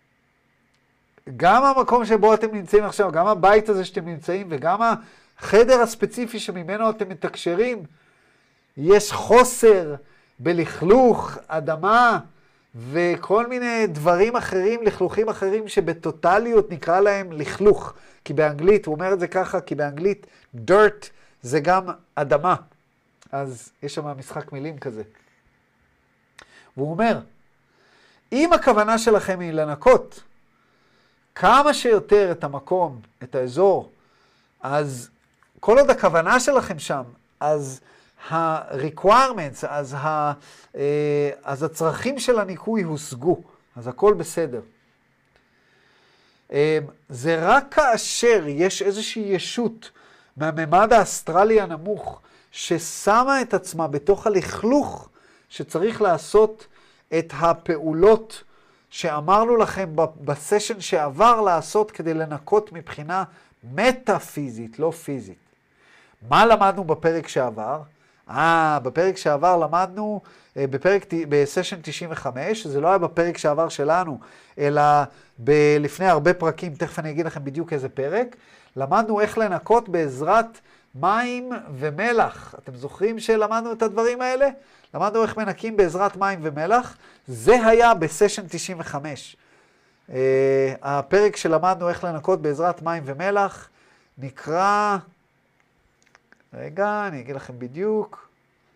המקום שבו אתם נמצאים עכשיו, גם הבית הזה שאתם נמצאים, וגם החדר הספציפי שממנו אתם מתקשרים, יש חוסר בלכלוך, אדמה וכל מיני דברים אחרים, לכלוכים אחרים, שבטוטליות נקרא להם לכלוך. כי באנגלית, הוא אומר את זה ככה, כי באנגלית dirt זה גם אדמה. אז יש שם משחק מילים כזה. והוא אומר, אם הכוונה שלכם היא לנקות כמה שיותר את המקום, את האזור, אז כל עוד הכוונה שלכם שם, אז ה-requirements, אז, ה, אז הצרכים של הניקוי הושגו, אז הכל בסדר. זה רק כאשר יש איזושהי ישות מהממד האסטרלי הנמוך, ששמה את עצמה בתוך הלכלוך, שצריך לעשות את הפעולות שאמרנו לכם בסשן שעבר לעשות כדי לנקות מבחינה מטאפיזית, לא פיזית. מה למדנו בפרק שעבר? אה, בפרק שעבר למדנו, בפרק, בסשן תשעים וחמש, זה לא היה בפרק שעבר שלנו, אלא ב, לפני הרבה פרקים, תכף אני אגיד לכם בדיוק איזה פרק, למדנו איך לנקות בעזרת מים ומלח. אתם זוכרים שלמדנו את הדברים האלה? למדנו איך מנקים בעזרת מים ומלח. זה היה בסשן תשעים וחמש. Uh, הפרק שלמדנו איך לנקות בעזרת מים ומלח נקרא, רגע, אני אגיד לכם בדיוק,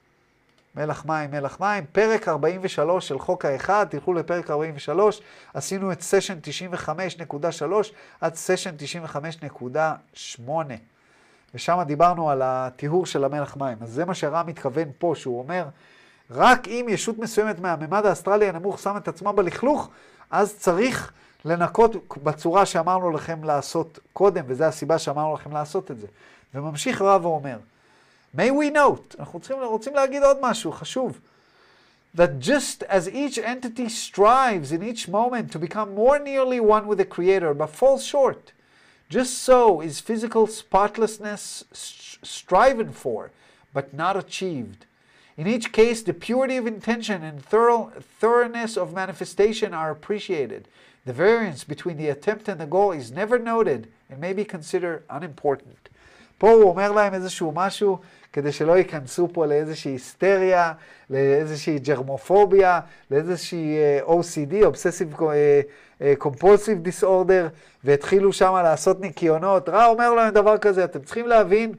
מלח מים, מלח מים, פרק ארבעים ושלוש של חוק האחד, תלכו לפרק ארבעים ושלוש, עשינו את סשן תשעים וחמש נקודה שלוש עד סשן תשעים וחמש נקודה שמונה. ושם דיברנו על הטיהור של המלח מים. אז זה מה שהר"ם מתכוון פה, שהוא אומר, רק אם ישות מסוימת מהממד האסטרלי הנמוך שם את עצמה בלכלוך, אז צריך לנקות בצורה שאמרנו לכם לעשות קודם, וזו הסיבה שאמרנו לכם לעשות את זה. וממשיך רב ואומר, may we note, אנחנו צריכים, רוצים להגיד עוד משהו חשוב, that just as each entity strives in each moment to become more nearly one with the Creator, but falls short, just so is physical spotlessness striven for, but not achieved. In each case, the purity of intention and thorough, thoroughness of manifestation are appreciated. The variance between the attempt and the goal is never noted and may be considered unimportant. פה הוא אומר להם איזשהו משהו, כדי שלא ייכנסו פה לאיזושהי היסטריה, לאיזושהי ג'רמופוביה, לאיזושהי או סי די, Obsessive Compulsive Disorder, והתחילו שם לעשות ניקיונות. רע אומר להם דבר כזה, אתם צריכים להבין,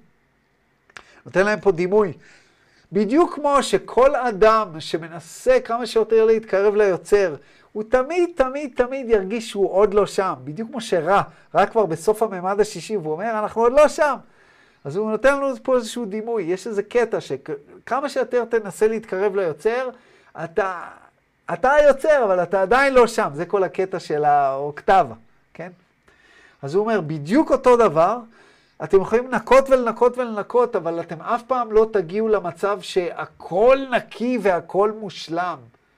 נותן להם פה דימוי. בדיוק כמו שכל אדם שמנסה כמה שיותר להתקרב ליוצר, הוא תמיד, תמיד, תמיד ירגיש שהוא עוד לא שם. בדיוק כמו שרע, רק כבר בסוף הממד השישי, והוא אומר, אנחנו עוד לא שם. אז הוא נותן לנו פה איזשהו דימוי. יש איזה קטע שכמה שיותר תנסה להתקרב ליוצר, אתה, אתה היוצר, אבל אתה עדיין לא שם. זה כל הקטע של האוקטבה, כן? אז הוא אומר, בדיוק אותו דבר, אתם יכולים לנקות ולנקות ולנקות, אבל אתם אף פעם לא תגיעו למצב שהכל נקי והכל מושלם.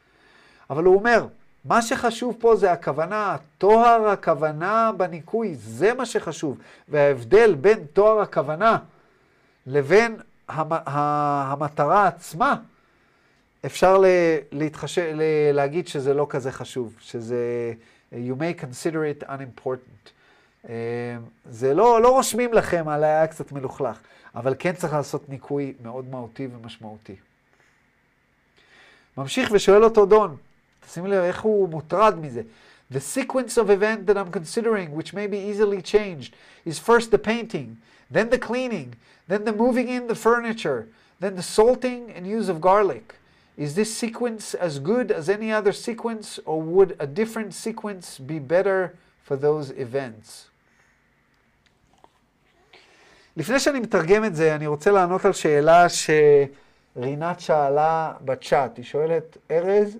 אבל הוא אומר, מה שחשוב פה זה הכוונה, תואר הכוונה בניקוי, זה מה שחשוב. וההבדל בין תואר הכוונה לבין המטרה עצמה, אפשר להתחש... להגיד שזה לא כזה חשוב, שזה, you may consider it unimportant. זה לא, לא רושמים לכם, על היה קצת מלוכלך, אבל כן צריך לעשות ניקוי מאוד מהותי ומשמעותי. ממשיך ושואל אותו דון, תשימו לב איך הוא מוטרד מזה. The sequence of event that I'm considering, which may be easily changed, is first the painting, then the cleaning, then the moving in the furniture, then the salting and use of garlic. Is this sequence as good as any other sequence, or would a different sequence be better for those events? לפני שאני מתרגם את זה, אני רוצה לענות על שאלה שרינת שאלה בצ'אט. היא שואלת, ארז,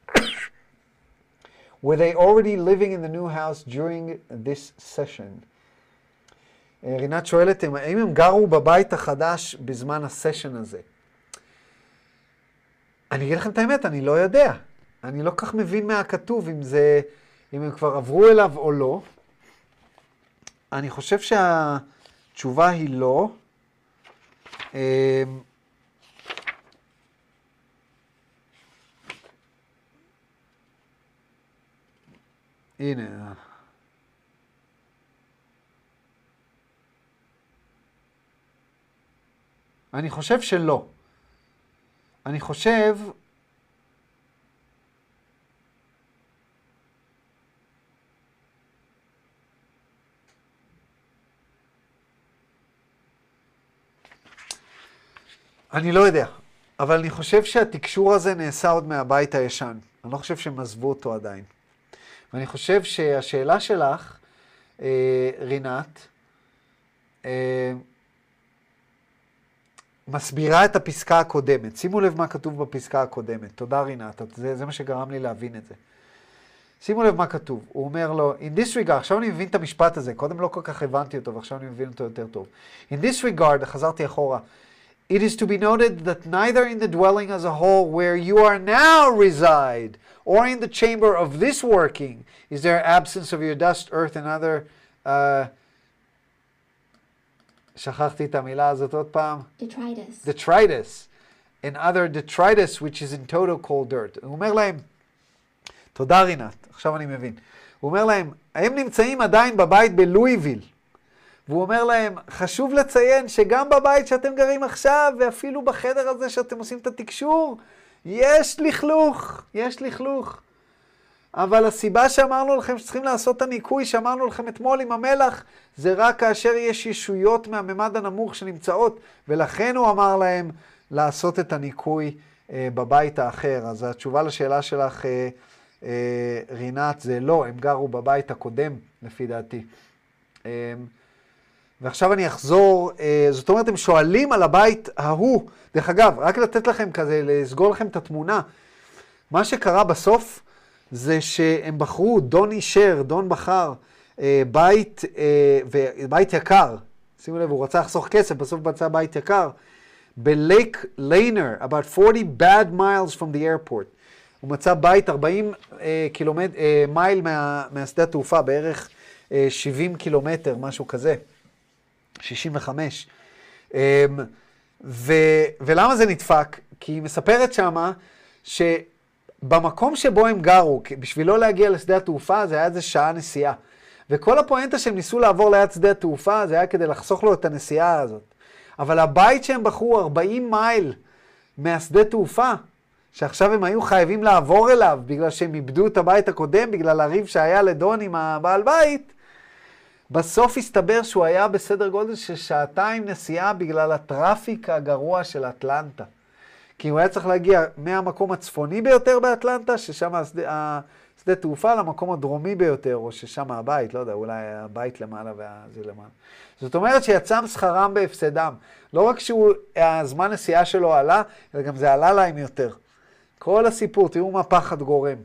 were they already living in the new house during this session? רינת שואלת, האם הם גרו בבית החדש בזמן הסשן הזה? אני אגיד לכם את האמת, אני לא יודע. אני לא כך מבין מהכתוב אם זה, אם הם כבר עברו אליו או לא. אני חושב שהתשובה היא לא. הנה. אני חושב שלא. אני חושב אני לא יודע, אבל אני חושב שהתקשור הזה נעשה עוד מהבית הישן. אני לא חושב שהם עזבו אותו עדיין. ואני חושב שהשאלה שלך, אה, רינת, אה, מסבירה את הפסקה הקודמת. שימו לב מה כתוב בפסקה הקודמת. תודה רינת, זה, זה מה שגרם לי להבין את זה. שימו לב מה כתוב. הוא אומר לו, in this regard, עכשיו אני מבין את המשפט הזה, קודם לא כל כך הבנתי אותו, ועכשיו אני מבין אותו יותר טוב. In this regard, חזרתי אחורה, it is to be noted that neither in the dwelling as a whole where you are now reside, or in the chamber of this working, is there absence of your dust, earth, and other... Uh, שכחתי את המילה הזאת עוד פעם. Detritus. Detritus. And other detritus, which is in total cold dirt. הוא אומר להם, תודה רינת, עכשיו אני מבין. הוא אומר להם, הם נמצאים עדיין בבית בלואיביל. והוא אומר להם, חשוב לציין שגם בבית שאתם גרים עכשיו, ואפילו בחדר הזה שאתם עושים את התקשור, יש לכלוך, יש לכלוך. אבל הסיבה שאמרנו לכם שצריכים לעשות את הניקוי, שאמרנו לכם אתמול עם המלח, זה רק כאשר יש ישויות מהממד הנמוך שנמצאות, ולכן הוא אמר להם לעשות את הניקוי אה, בבית האחר. אז התשובה לשאלה שלך, אה, אה, רינת, זה לא, הם גרו בבית הקודם, לפי דעתי. אה, ועכשיו אני אחזור, אה, זאת אומרת, הם שואלים על הבית ההוא. דרך אגב, רק לתת לכם כזה, לסגור לכם את התמונה. מה שקרה בסוף, זה שהם בחרו, דון אישר, דון בחר, אה, בית, אה, בית יקר. שימו לב, הוא רצה לחסוך כסף, בסוף מצא בית יקר. בלייק ליינר, about forty bad miles from the airport. הוא מצא בית ארבעים אה, קילומטר, אה, מייל מה, מהשדה התעופה, בערך אה, שבעים קילומטר, משהו כזה. שישים וחמש. אה, ו, ולמה זה נדפק? כי היא מספרת שמה, ש... במקום שבו הם גרו, בשביל לא להגיע לשדה התעופה, זה היה איזה שעה נסיעה. וכל הפואנטה שהם ניסו לעבור ליד שדה התעופה, זה היה כדי לחסוך לו את הנסיעה הזאת. אבל הבית שהם בחרו ארבעים מייל מהשדה תעופה, שעכשיו הם היו חייבים לעבור אליו, בגלל שהם איבדו את הבית הקודם, בגלל הריב שהיה לדון עם הבעל בית, בסוף הסתבר שהוא היה בסדר גודל של שעתיים נסיעה, בגלל הטראפיק הגרוע של אטלנטה. כי הוא היה צריך להגיע מהמקום הצפוני ביותר באטלנטה, ששם השדה, השדה תעופה, למקום הדרומי ביותר, או ששם הבית, לא יודע, אולי הבית למעלה וזה למעלה. זאת אומרת שיצא שכרם בהפסדם. לא רק שהזמן נסיעה שלו עלה, אלא גם זה עלה להם יותר. כל הסיפור, תראו מה פחד גורם.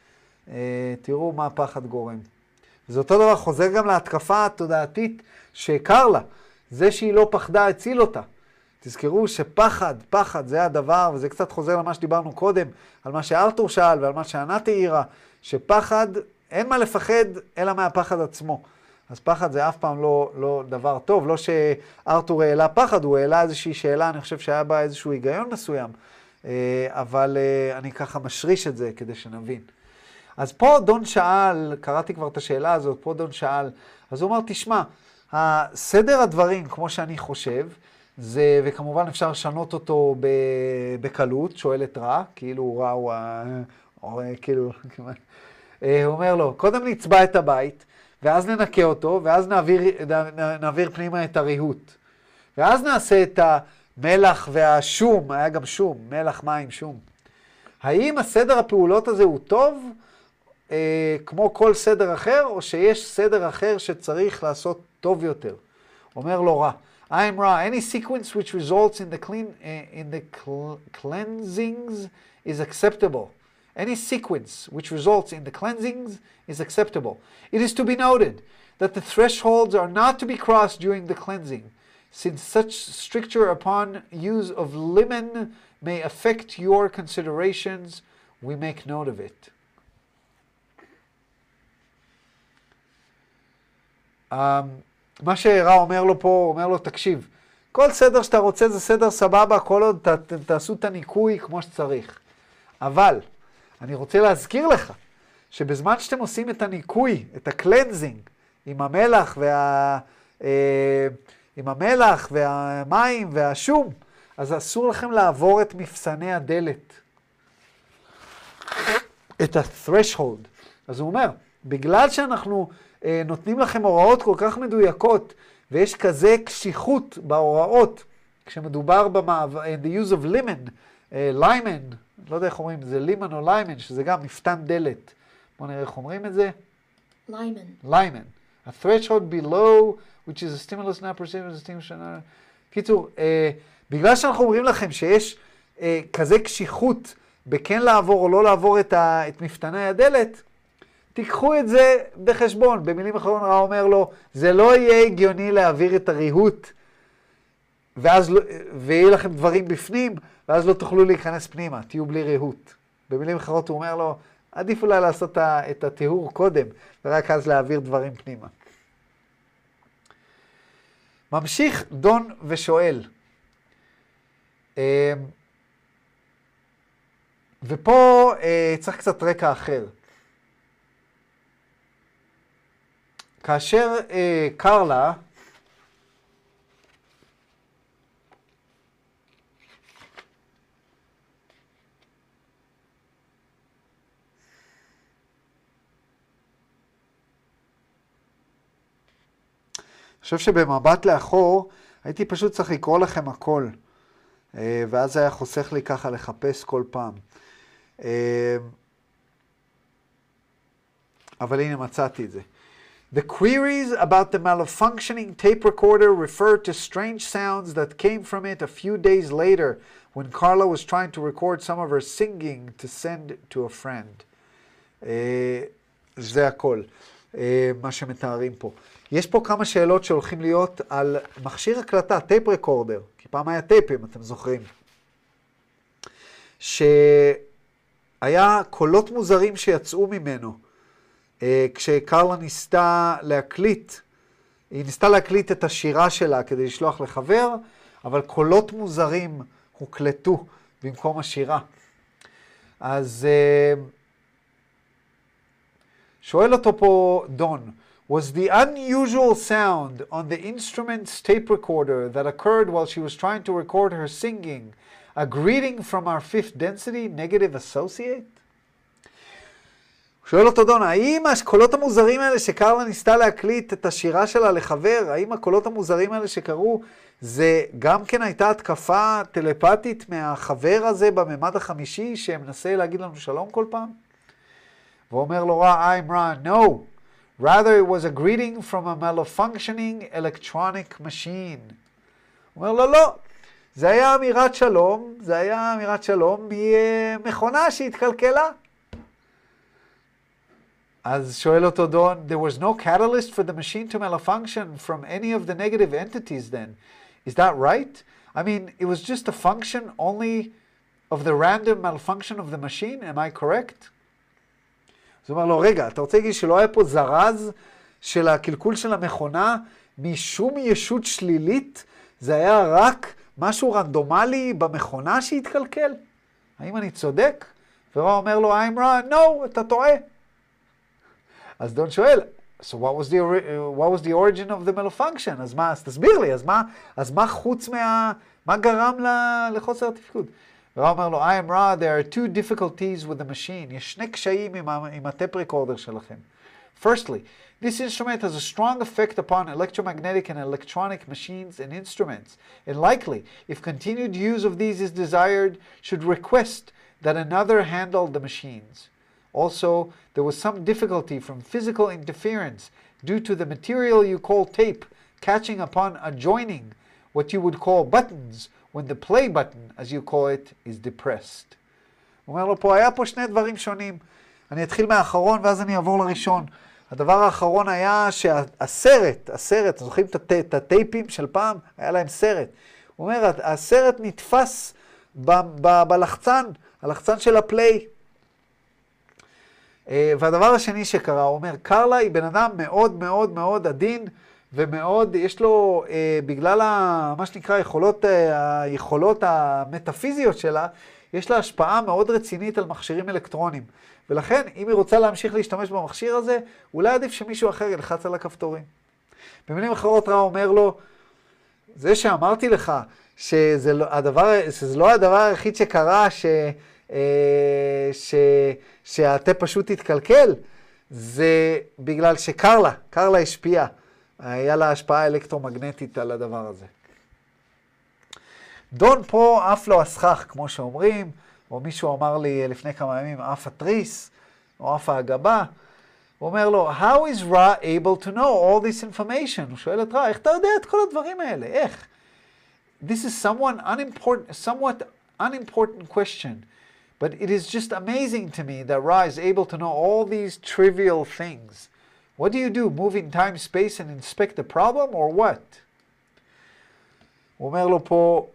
תראו מה פחד גורם. וזה אותו דבר חוזר גם להתקפה התודעתית שהכר לה. זה שהיא לא פחדה, הציל אותה. תזכרו שפחד, פחד זה הדבר, וזה קצת חוזר למה שדיברנו קודם, על מה שארתור שאל ועל מה שענת העירה, שפחד, אין מה לפחד אלא מהפחד עצמו. אז פחד זה אף פעם לא, לא דבר טוב, לא שארתור העלה פחד, הוא העלה איזושהי שאלה, אני חושב שהיה בה איזשהו היגיון מסוים, אבל אני ככה משריש את זה כדי שנבין. אז פה דון שאל, קראתי כבר את השאלה הזאת, פה דון שאל, אז הוא אמר, תשמע, הסדר הדברים, כמו שאני חושב, זה, וכמובן אפשר לשנות אותו בקלות, שואלת רע, כאילו רע הוא, או, כאילו, הוא אומר לו, קודם נצבע את הבית, ואז ננקה אותו, ואז נעביר, נעביר פנימה את הריהוט. ואז נעשה את המלח והשום, היה גם שום, מלח, מים, שום. האם הסדר הפעולות הזה הוא טוב, אה, כמו כל סדר אחר, או שיש סדר אחר שצריך לעשות טוב יותר? אומר לו רע. I am Ra. Any sequence which results in the clean uh, in the cl cleansings is acceptable. Any sequence which results in the cleansings is acceptable. It is to be noted that the thresholds are not to be crossed during the cleansing, since such stricture upon use of lemon may affect your considerations. We make note of it. Um, מה שהרע אומר לו פה, הוא אומר לו, תקשיב, כל סדר שאתה רוצה זה סדר סבבה, כל עוד ת, ת, תעשו את הניקוי כמו שצריך. אבל, אני רוצה להזכיר לך, שבזמן שאתם עושים את הניקוי, את הקלנזינג, עם המלח, וה, אה, עם המלח והמים והשום, אז אסור לכם לעבור את מפסני הדלת. את ה-threshold. אז הוא אומר, בגלל שאנחנו אה, נותנים לכם הוראות כל כך מדויקות, ויש כזה קשיחות בהוראות כשמדובר במעבר, in the use of lemon, uh, לימן, לא יודע איך אומרים, זה לימן או לימן, שזה גם מפתן דלת. בואו נראה איך אומרים את זה. Lyman. לימן. A threshold below, which is a stimulus not perceived as a stimulus. קיצור, uh, בגלל שאנחנו אומרים לכם שיש uh, כזה קשיחות בכן לעבור או לא לעבור את, ה, את מפתני הדלת, תיקחו את זה בחשבון. במילים אחרות רע אומר לו, זה לא יהיה הגיוני להעביר את הריהוט, ואז לא, ויהיה לכם דברים בפנים, ואז לא תוכלו להיכנס פנימה, תהיו בלי ריהוט. במילים אחרות הוא אומר לו, עדיף אולי לעשות את הטיהור קודם, ורק אז להעביר דברים פנימה. ממשיך דון ושואל. ופה צריך קצת רקע אחר. כאשר קרלה, אני חושב שבמבט לאחור, הייתי פשוט צריך לקרוא לכם הכל, ואז היה חוסך לי ככה לחפש כל פעם. אבל הנה מצאתי את זה. The queries about the malfunctioning tape recorder refer to strange sounds that came from it a few days later when Carla was trying to record some of her singing to send to a friend. זה הכל, מה שמתארים פה. יש פה כמה שאלות שהולכים להיות על מכשיר הקלטה, טייפ רקורדר, כי פעם היה טייפים, אתם זוכרים, שהיה קולות מוזרים שיצאו ממנו, כשקרלה ניסתה להקליט, היא ניסתה להקליט את השירה שלה כדי לשלוח לחבר, אבל קולות מוזרים הוקלטו במקום השירה. אז שואל אותו פה דון, was the unusual sound on the instrument's tape recorder that occurred while she was trying to record her singing a greeting from our fifth density negative associate? שואל אותו דון, האם הקולות המוזרים האלה שקרלה ניסתה להקליט את השירה שלה לחבר, האם הקולות המוזרים האלה שקרו, זה גם כן הייתה התקפה טלפתית מהחבר הזה בממד החמישי שמנסה להגיד לנו שלום כל פעם? ואומר לו רע, I'm Ra, no. Rather, it was a greeting from a malfunctioning electronic machine. הוא אומר לו, לא, זה היה אמירת שלום, זה היה אמירת שלום ממכונה שהתקלקלה. אז שואל אותו דון, there was no catalyst for the machine to malfunction from any of the negative entities then. Is that right? I mean, it was just a function only of the random malfunction of the machine, am I correct? אז הוא אומר לו, רגע, אתה רוצה להגיד שלא היה פה זרז של הקלקול של המכונה משום ישות שלילית? זה היה רק משהו רנדומלי במכונה שהתקלקל? האם אני צודק? ורע אומר לו, I'm Ra, no, אתה טועה. אז דון שואל, so what was the, what was the origin of the malfunction? אז מה, אז תסביר לי, אז מה, אז מה חוץ מה, מה גרם לחוסר התפקוד? ורע אומר לו, I am Ra, there are two difficulties with the machine. יש שני קשיים עם, עם הטייפ רקורדר שלכם. Firstly, this instrument has a strong effect upon electromagnetic and electronic machines and instruments, and likely, if continued use of these is desired, should request that another handle the machines. Also, there was some difficulty from physical interference due to the material you call tape catching upon adjoining what you would call buttons when the play button, as you call it, is depressed. הוא אומר לו פה, היה פה שני דברים שונים. אני אתחיל מהאחרון ואז אני אעבור לראשון. הדבר האחרון היה שהסרט, הסרט, זוכרים את הטייפים של פעם? היה להם סרט. הוא אומר, הסרט נתפס ב- ב- בלחצן, הלחצן של הפליי. והדבר השני שקרה, הוא אומר, קרלה היא בן אדם מאוד מאוד מאוד עדין, ומאוד, יש לו, בגלל מה שנקרא יכולות, היכולות המטאפיזיות שלה, יש לה השפעה מאוד רצינית על מכשירים אלקטרונים. ולכן, אם היא רוצה להמשיך להשתמש במכשיר הזה, אולי עדיף שמישהו אחר ילחץ על הכפתורים. במילים אחרות רע אומר לו, זה שאמרתי לך, שזה לא הדבר, שזה לא הדבר היחיד שקרה, ש... ש... שהתה פשוט התקלקל, זה בגלל שקרלה, קרלה השפיעה, היה לה השפעה אלקטרומגנטית על הדבר הזה. דון פה אף לא הסכך, כמו שאומרים, או מישהו אמר לי לפני כמה ימים, אף התריס, או אף ההגבה. הוא אומר לו, how is Ra able to know all this information? הוא שואל את רע, איך אתה יודע את כל הדברים האלה? איך? This is someone unimportant, somewhat unimportant question, but it is just amazing to me that Ra is able to know all these trivial things. What do you do? Move in time, space, and inspect the problem, or what? הוא אומר לו פה,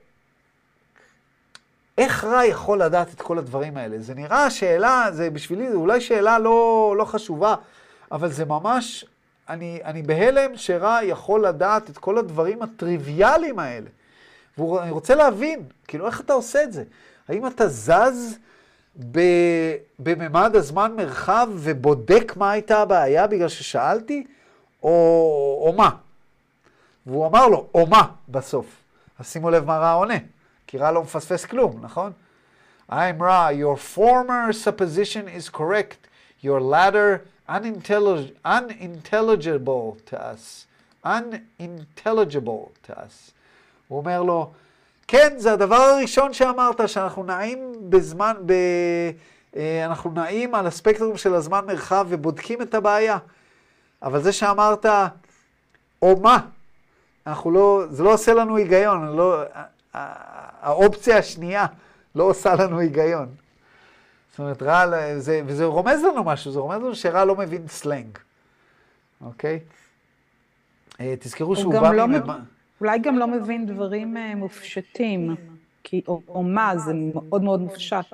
איך רע יכול לדעת את כל הדברים האלה? זה נראה שאלה, זה בשבילי, זה אולי שאלה לא, לא חשובה, אבל זה ממש, אני, אני בהלם שרע יכול לדעת את כל הדברים הטריוויאליים האלה. ואני רוצה להבין, כאילו, איך אתה עושה את זה? האם אתה זז ב, בממד הזמן מרחב ובודק מה הייתה הבעיה בגלל ששאלתי, או, או מה? והוא אמר לו, או מה, בסוף. אז שימו לב מה רע עונה. כי רע לא מפספס כלום, נכון? I'm Ra, your former supposition is correct. Your latter unintellig- unintelligible to us. Unintelligible to us. הוא אומר לו, כן, זה הדבר הראשון שאמרת, שאנחנו נעים בזמן, ב... אנחנו נעים על הספקטרום של הזמן מרחב ובודקים את הבעיה. אבל זה שאמרת, או מה? אנחנו לא, זה לא עושה לנו היגיון, לא... האופציה השנייה לא עושה לנו היגיון. זאת אומרת, רע, זה, וזה רומז לנו משהו, זה רומז לנו שרע לא מבין סלנג. אוקיי? תזכרו שהוא בא לא מממה... מב... אולי גם לא מבין דברים מופשטים, כי או, או מה, זה מאוד מאוד מופשט.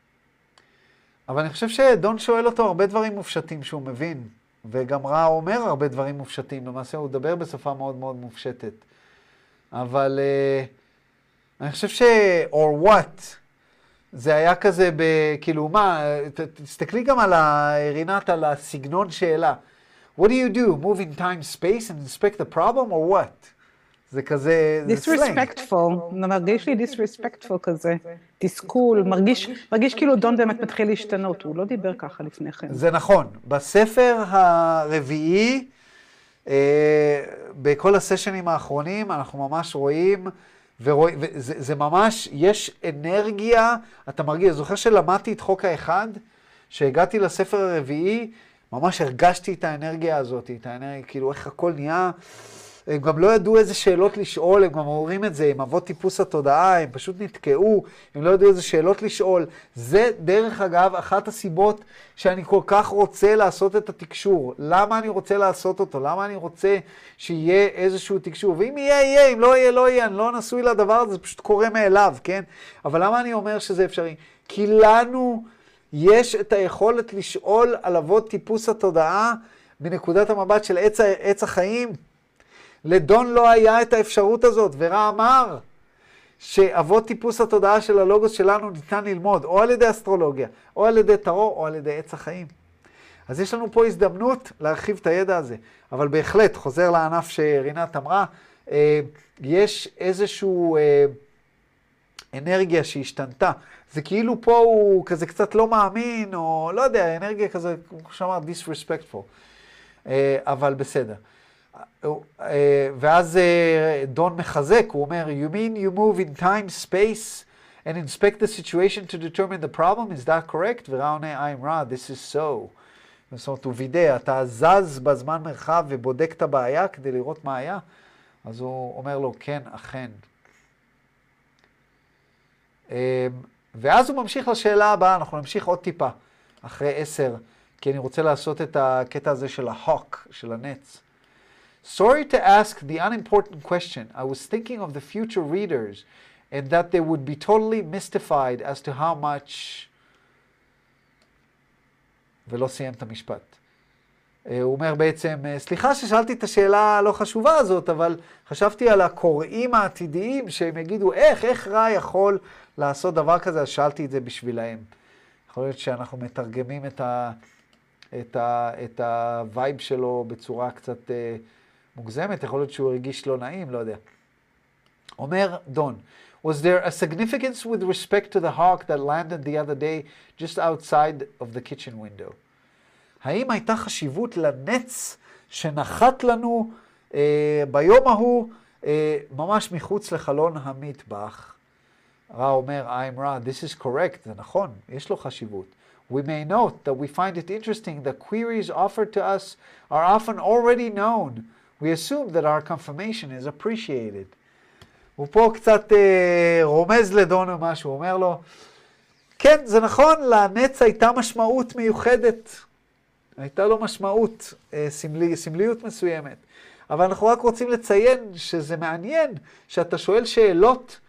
אבל אני חושב שדון שואל אותו הרבה דברים מופשטים שהוא מבין, וגם רע אומר הרבה דברים מופשטים, למעשה הוא מדבר בשפה מאוד מאוד מופשטת. אבל... אני חושב ש... or what, זה היה כזה ב... כאילו, מה, ת, תסתכלי גם על ה... רינת, על הסגנון שאלה. What do you do? Move in time, space and inspect the problem, or what? זה כזה... disrespectful, מרגיש לי disrespectful כזה. תסכול, מרגיש, מרגיש כאילו דון באמת מתחיל להשתנות, הוא לא דיבר ככה לפני כן. זה נכון. בספר הרביעי, אה, בכל הסשנים האחרונים, אנחנו ממש רואים... ורואי, וזה זה ממש, יש אנרגיה, אתה מרגיש, זוכר שלמדתי את חוק האחד, שהגעתי לספר הרביעי, ממש הרגשתי את האנרגיה הזאת, את האנרגיה, כאילו איך הכל נהיה, הם גם לא ידעו איזה שאלות לשאול, הם גם אומרים את זה, הם אבות טיפוס התודעה, הם פשוט נתקעו, הם לא ידעו איזה שאלות לשאול. זה דרך אגב אחת הסיבות שאני כל כך רוצה לעשות את התקשור. למה אני רוצה לעשות אותו? למה אני רוצה שיהיה איזשהו תקשור? ואם יהיה, יהיה, אם לא יהיה, לא יהיה, אני לא נשוי לדבר הזה, זה פשוט קורה מאליו, כן? אבל למה אני אומר שזה אפשרי? כי לנו יש את היכולת לשאול על אבות טיפוס התודעה מנקודת המבט של עץ, עץ החיים. לדון לא היה את האפשרות הזאת, ורע אמר שאבות טיפוס התודעה של הלוגוס שלנו ניתן ללמוד, או על ידי אסטרולוגיה, או על ידי טרו, או על ידי עץ החיים. אז יש לנו פה הזדמנות להרחיב את הידע הזה. אבל בהחלט, חוזר לענף שרינת אמרה, יש איזשהו אנרגיה שהשתנתה. זה כאילו פה הוא כזה קצת לא מאמין, או לא יודע, אנרגיה כזה, כמו שאמר, disrespectful. אבל בסדר. ואז דון מחזק, הוא אומר, you mean you move in time, space, and inspect the situation to determine the problem, is that correct? ורע עונה, I'm Ra, this is so. זאת אומרת, הוא וידא, אתה זז בזמן מרחב ובודק את הבעיה כדי לראות מה היה? אז הוא אומר לו, כן, אכן. ואז הוא ממשיך לשאלה הבאה, אנחנו נמשיך עוד טיפה, אחרי עשר, כי אני רוצה לעשות את הקטע הזה של ההוק, של הנץ. Sorry to ask the unimportant question. I was thinking of the future readers and that they would be totally mystified as to how much... ולא סיים את המשפט. הוא אומר בעצם, סליחה ששאלתי את השאלה הלא חשובה הזאת, אבל חשבתי על הקוראים העתידיים שהם יגידו, איך, איך רע יכול לעשות דבר כזה, אז שאלתי את זה בשבילהם. יכול להיות שאנחנו מתרגמים את ה... את ה... את הווייב שלו בצורה קצת... מוגזמת, יכול להיות שהוא הרגיש לא נעים, לא יודע. אומר דון, was there a significance with respect to the hawk that landed the other day just outside of the kitchen window? האם הייתה חשיבות לנץ שנחת לנו אה, ביום ההוא אה, ממש מחוץ לחלון המטבח? רע אומר, I'm Ra, this is correct, זה נכון, יש לו חשיבות. We may note that we find it interesting that queries offered to us are often already known. We assume that our confirmation is appreciated. הוא פה קצת אה, רומז לדון או משהו, הוא אומר לו, כן, זה נכון, לנץ הייתה משמעות מיוחדת. הייתה לו משמעות, אה, סמלי, סמליות מסוימת. אבל אנחנו רק רוצים לציין שזה מעניין שאתה שואל שאלות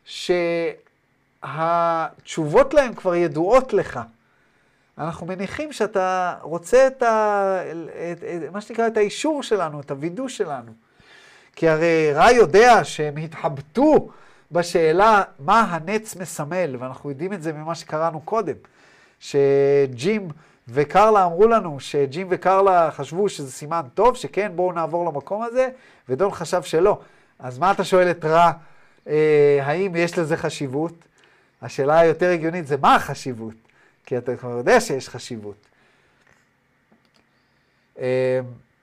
שהתשובות להן כבר ידועות לך. אנחנו מניחים שאתה רוצה את, ה, את, את מה שנקרא את האישור שלנו, את הוידוא שלנו. כי הרי רע יודע שהם התחבטו בשאלה מה הנץ מסמל, ואנחנו יודעים את זה ממה שקראנו קודם, שג'ים וקרלה אמרו לנו, שג'ים וקרלה חשבו שזה סימן טוב, שכן בואו נעבור למקום הזה, ודון חשב שלא. אז מה אתה שואל את רע, אה, האם יש לזה חשיבות? השאלה היותר הגיונית זה מה החשיבות? כי אתה כבר יודע שיש חשיבות. אה,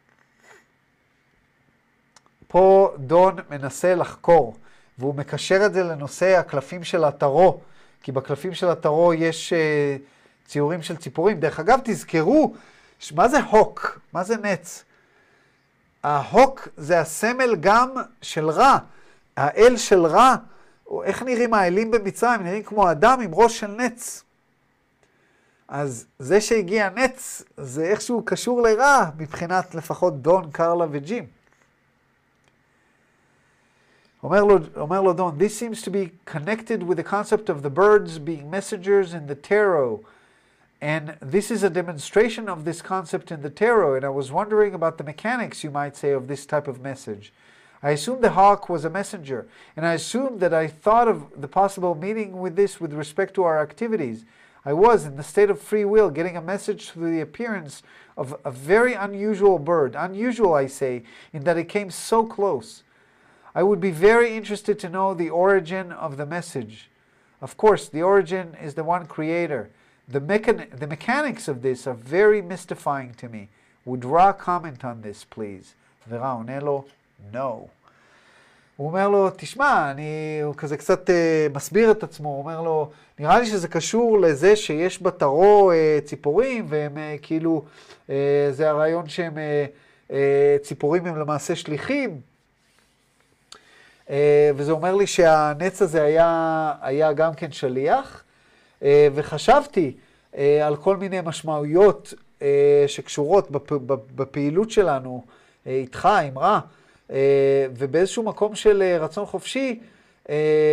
פה דון מנסה לחקור, והוא מקשר את זה לנושא הקלפים של הטרו, כי בקלפים של הטרו יש אה, ציורים של ציפורים. דרך אגב, תזכרו, מה זה הוק? מה זה נץ? ההוק זה הסמל גם של רע. האל של רע, או איך נראים האלים במצרים? נראים כמו אדם עם ראש של נץ. אז זה שהגיע נץ, זה איכשהו קשור לרע, מבחינת לפחות דון, קרלה וג'ים. אומר לו, אומר לו דון, this seems to be connected with the concept of the birds being messengers in the tarot. And this is a demonstration of this concept in the tarot. And I was wondering about the mechanics, you might say, of this type of message. I assumed the hawk was a messenger. And I assumed that I thought of the possible meaning with this with respect to our activities. I was, in the state of free will, getting a message through the appearance of a very unusual bird. Unusual, I say, in that it came so close. I would be very interested to know the origin of the message. Of course, the origin is the one creator. The, mechan the mechanics of this are very mystifying to me. Would Ra comment on this, please? ורע עונה לו, no. הוא אומר לו, תשמע, אני, הוא כזה קצת uh, מסביר את עצמו, הוא אומר לו, נראה לי שזה קשור לזה שיש בטרו uh, ציפורים, והם uh, כאילו, uh, זה הרעיון שהם, uh, uh, ציפורים הם למעשה שליחים, uh, וזה אומר לי שהנץ הזה היה, היה גם כן שליח, uh, וחשבתי uh, על כל מיני משמעויות uh, שקשורות בפ, בפעילות שלנו, uh, איתך, עם רע, Uh, ובאיזשהו מקום של uh, רצון חופשי, uh,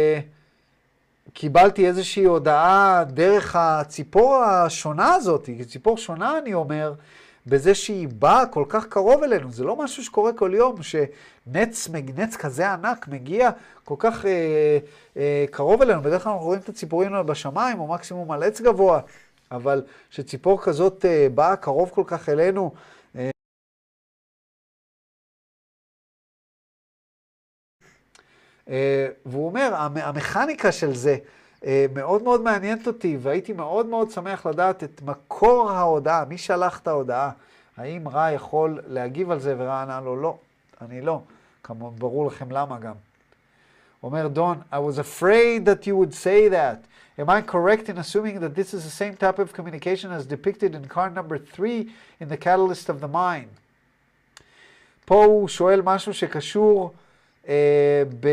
קיבלתי איזושהי הודעה דרך הציפור השונה הזאת, ציפור שונה אני אומר, בזה שהיא באה כל כך קרוב אלינו. זה לא משהו שקורה כל יום, שנץ נץ כזה ענק מגיע כל כך uh, uh, קרוב אלינו. בדרך כלל אנחנו רואים את הציפורים בשמיים, או מקסימום על עץ גבוה, אבל שציפור כזאת uh, באה קרוב כל כך אלינו, Uh, והוא אומר, המכניקה של זה uh, מאוד מאוד מעניינת אותי, והייתי מאוד מאוד שמח לדעת את מקור ההודעה, מי שלח את ההודעה, האם רע יכול להגיב על זה, ורע ענה לו, לא, אני לא, כמובן ברור לכם למה גם. אומר דון, I was afraid that you would say that. Am I correct in assuming that this is the same type of communication as depicted in card number three in the Catalyst of the Mind? פה הוא שואל משהו שקשור Uh, ב...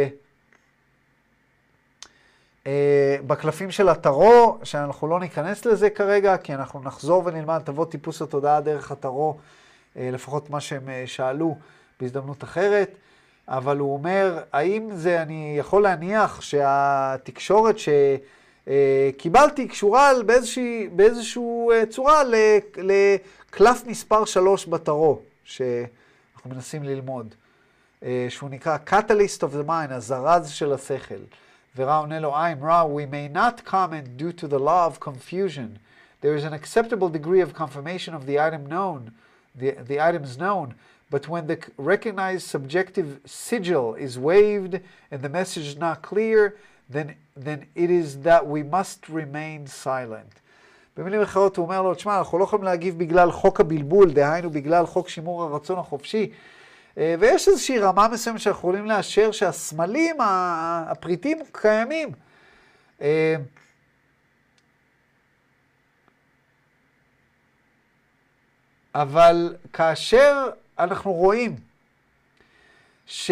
uh, בקלפים של הטרו, שאנחנו לא ניכנס לזה כרגע, כי אנחנו נחזור ונלמד תוות טיפוס התודעה דרך הטרו, uh, לפחות מה שהם uh, שאלו בהזדמנות אחרת, אבל הוא אומר, האם זה, אני יכול להניח שהתקשורת שקיבלתי uh, קשורה באיזושהי, באיזשהו uh, צורה לקלף מספר שלוש בטרו, שאנחנו מנסים ללמוד. שהוא נקרא Catalyst of the Mind, הזרז של השכל. ורע עונה לו, I'm Ra, we may not comment due to the law of confusion. There is an acceptable degree of confirmation of the item known, the, the items known, but when the recognized subjective sigil is waived and the message is not clear, then, then it is that we must remain silent. במילים אחרות הוא אומר לו, תשמע, אנחנו לא יכולים להגיב בגלל חוק הבלבול, דהיינו בגלל חוק שימור הרצון החופשי, ויש איזושהי רמה מסוימת שאנחנו יכולים לאשר שהסמלים, הפריטים קיימים, אה, אבל כאשר אנחנו רואים ש...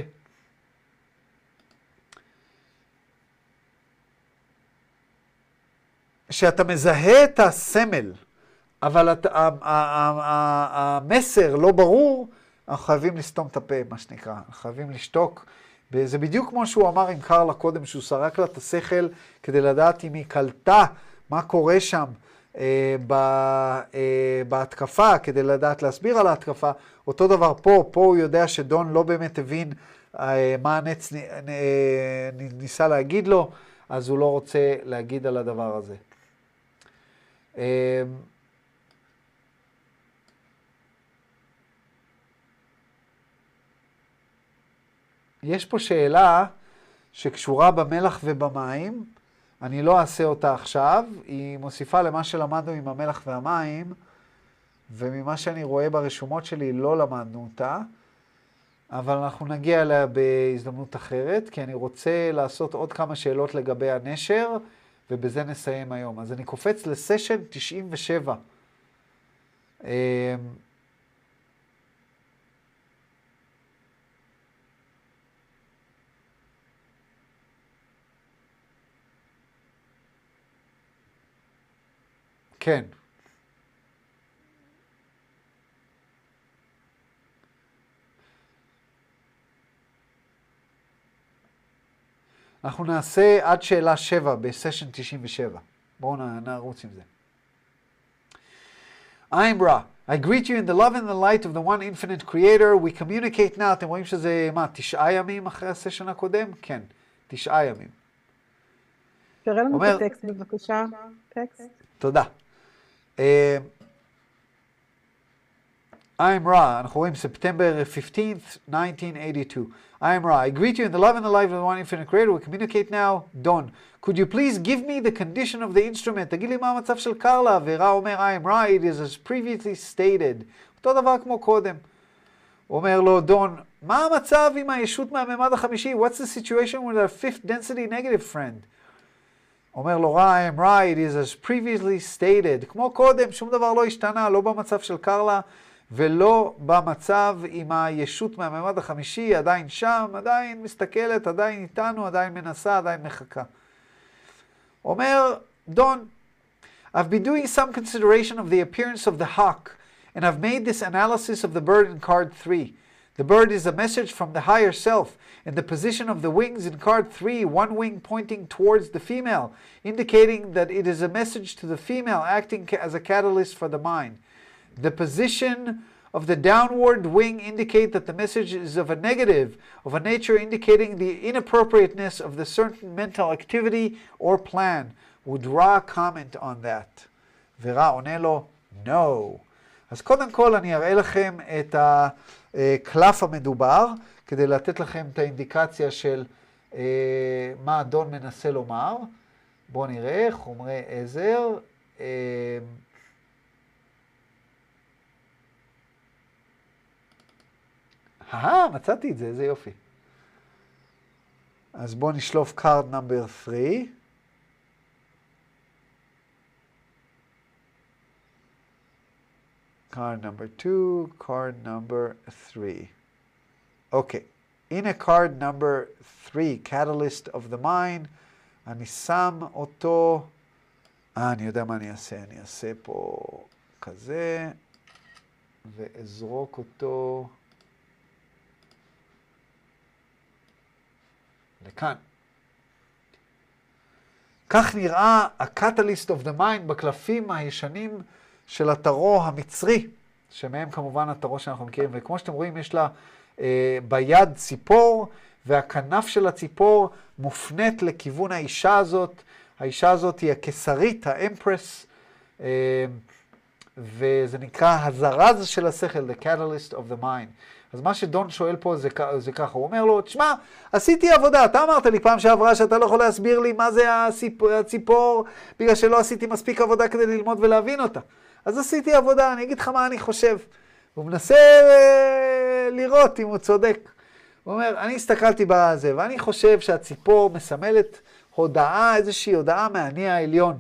שאתה מזהה את הסמל, אבל את, ה, ה, ה, ה, המסר לא ברור, אנחנו חייבים לסתום את הפה, מה שנקרא. אנחנו חייבים לשתוק. זה בדיוק כמו שהוא אמר עם קרלה קודם, שהוא סרק לה את השכל כדי לדעת אם היא קלטה מה קורה שם אה, ב, אה, בהתקפה, כדי לדעת להסביר על ההתקפה. אותו דבר פה, פה הוא יודע שדון לא באמת הבין אה, מה הנץ אה, ניסה להגיד לו, אז הוא לא רוצה להגיד על הדבר הזה. אה, יש פה שאלה שקשורה במלח ובמים, אני לא אעשה אותה עכשיו, היא מוסיפה למה שלמדנו עם המלח והמים, וממה שאני רואה ברשומות שלי לא למדנו אותה, אבל אנחנו נגיע אליה בהזדמנות אחרת, כי אני רוצה לעשות עוד כמה שאלות לגבי הנשר, ובזה נסיים היום. אז אני קופץ לסשן תשעים ושבע. כן. אנחנו נעשה עד שאלה שבע בסשן תשעים ושבע. בואו נרוץ עם זה. I'm Ra. I greet you in the love and the light of the one infinite creator. We communicate now. אתם רואים שזה, מה, תשעה ימים אחרי הסשן הקודם? כן, תשעה ימים. תראה לנו את הטקסט בבקשה. טקסט. תודה. Uh, I'm Ra, אנחנו רואים September fifteenth, nineteen eighty-two. I'm Ra. I greet you in the love and the life of the one infinite creator. We communicate now. Don, could you please give me the condition of the instrument? תגיד לי מה המצב של קרלה. ורה אומר, I'm Ra, it is as previously stated. אותו דבר כמו קודם. אומר לו, דון, מה המצב עם הישות מהממד החמישי? What's the situation with our fifth density negative friend? אומר לו, רע, I'm right, it is as previously stated. כמו קודם, שום דבר לא השתנה, לא במצב של קרלה, ולא במצב עם הישות מהממד החמישי, עדיין שם, עדיין מסתכלת, עדיין איתנו, עדיין מנסה, עדיין מחכה. אומר, דון, I've been doing some consideration of the appearance of the hawk, and I've made this analysis of the bird in card three. The bird is a message from the higher self, and the position of the wings in card three, one wing pointing towards the female, indicating that it is a message to the female acting as a catalyst for the mind. The position of the downward wing indicate that the message is of a negative, of a nature indicating the inappropriateness of the certain mental activity or plan. Would Ra comment on that? ורה עונה לו, no. אז קודם כל אני אראה לכם את הקלף המדובר, כדי לתת לכם את האינדיקציה של אה, מה אדון מנסה לומר. בואו נראה, חומרי עזר. אה, אה, מצאתי את זה, איזה יופי. אז בואו נשלוף card number three. Card number two, card number three. Okay, in a card number three, Catalyst of the Mind, אני שם אותו, אה, אני יודע מה אני אעשה, אני אעשה פה כזה, ואזרוק אותו לכאן. כך נראה ה-Catalyst of the Mind בקלפים הישנים של הטרו המצרי, שמהם כמובן הטרו שאנחנו מכירים, וכמו שאתם רואים יש לה אה, ביד ציפור, והכנף של הציפור מופנית לכיוון האישה הזאת. האישה הזאת היא הקיסרית, האמפרס, אה, וזה נקרא הזרז של השכל, the catalyst of the mind. אז מה שדון שואל פה זה, זה ככה, הוא אומר לו, תשמע, עשיתי עבודה, אתה אמרת לי פעם שעברה שאתה לא יכול להסביר לי מה זה הציפור, הציפור, בגלל שלא עשיתי מספיק עבודה כדי ללמוד ולהבין אותה. אז עשיתי עבודה, אני אגיד לך מה אני חושב. הוא מנסה אה, לראות אם הוא צודק. הוא אומר, אני הסתכלתי בזה, ואני חושב שהציפור מסמלת הודעה, איזושהי הודעה מהאני העליון.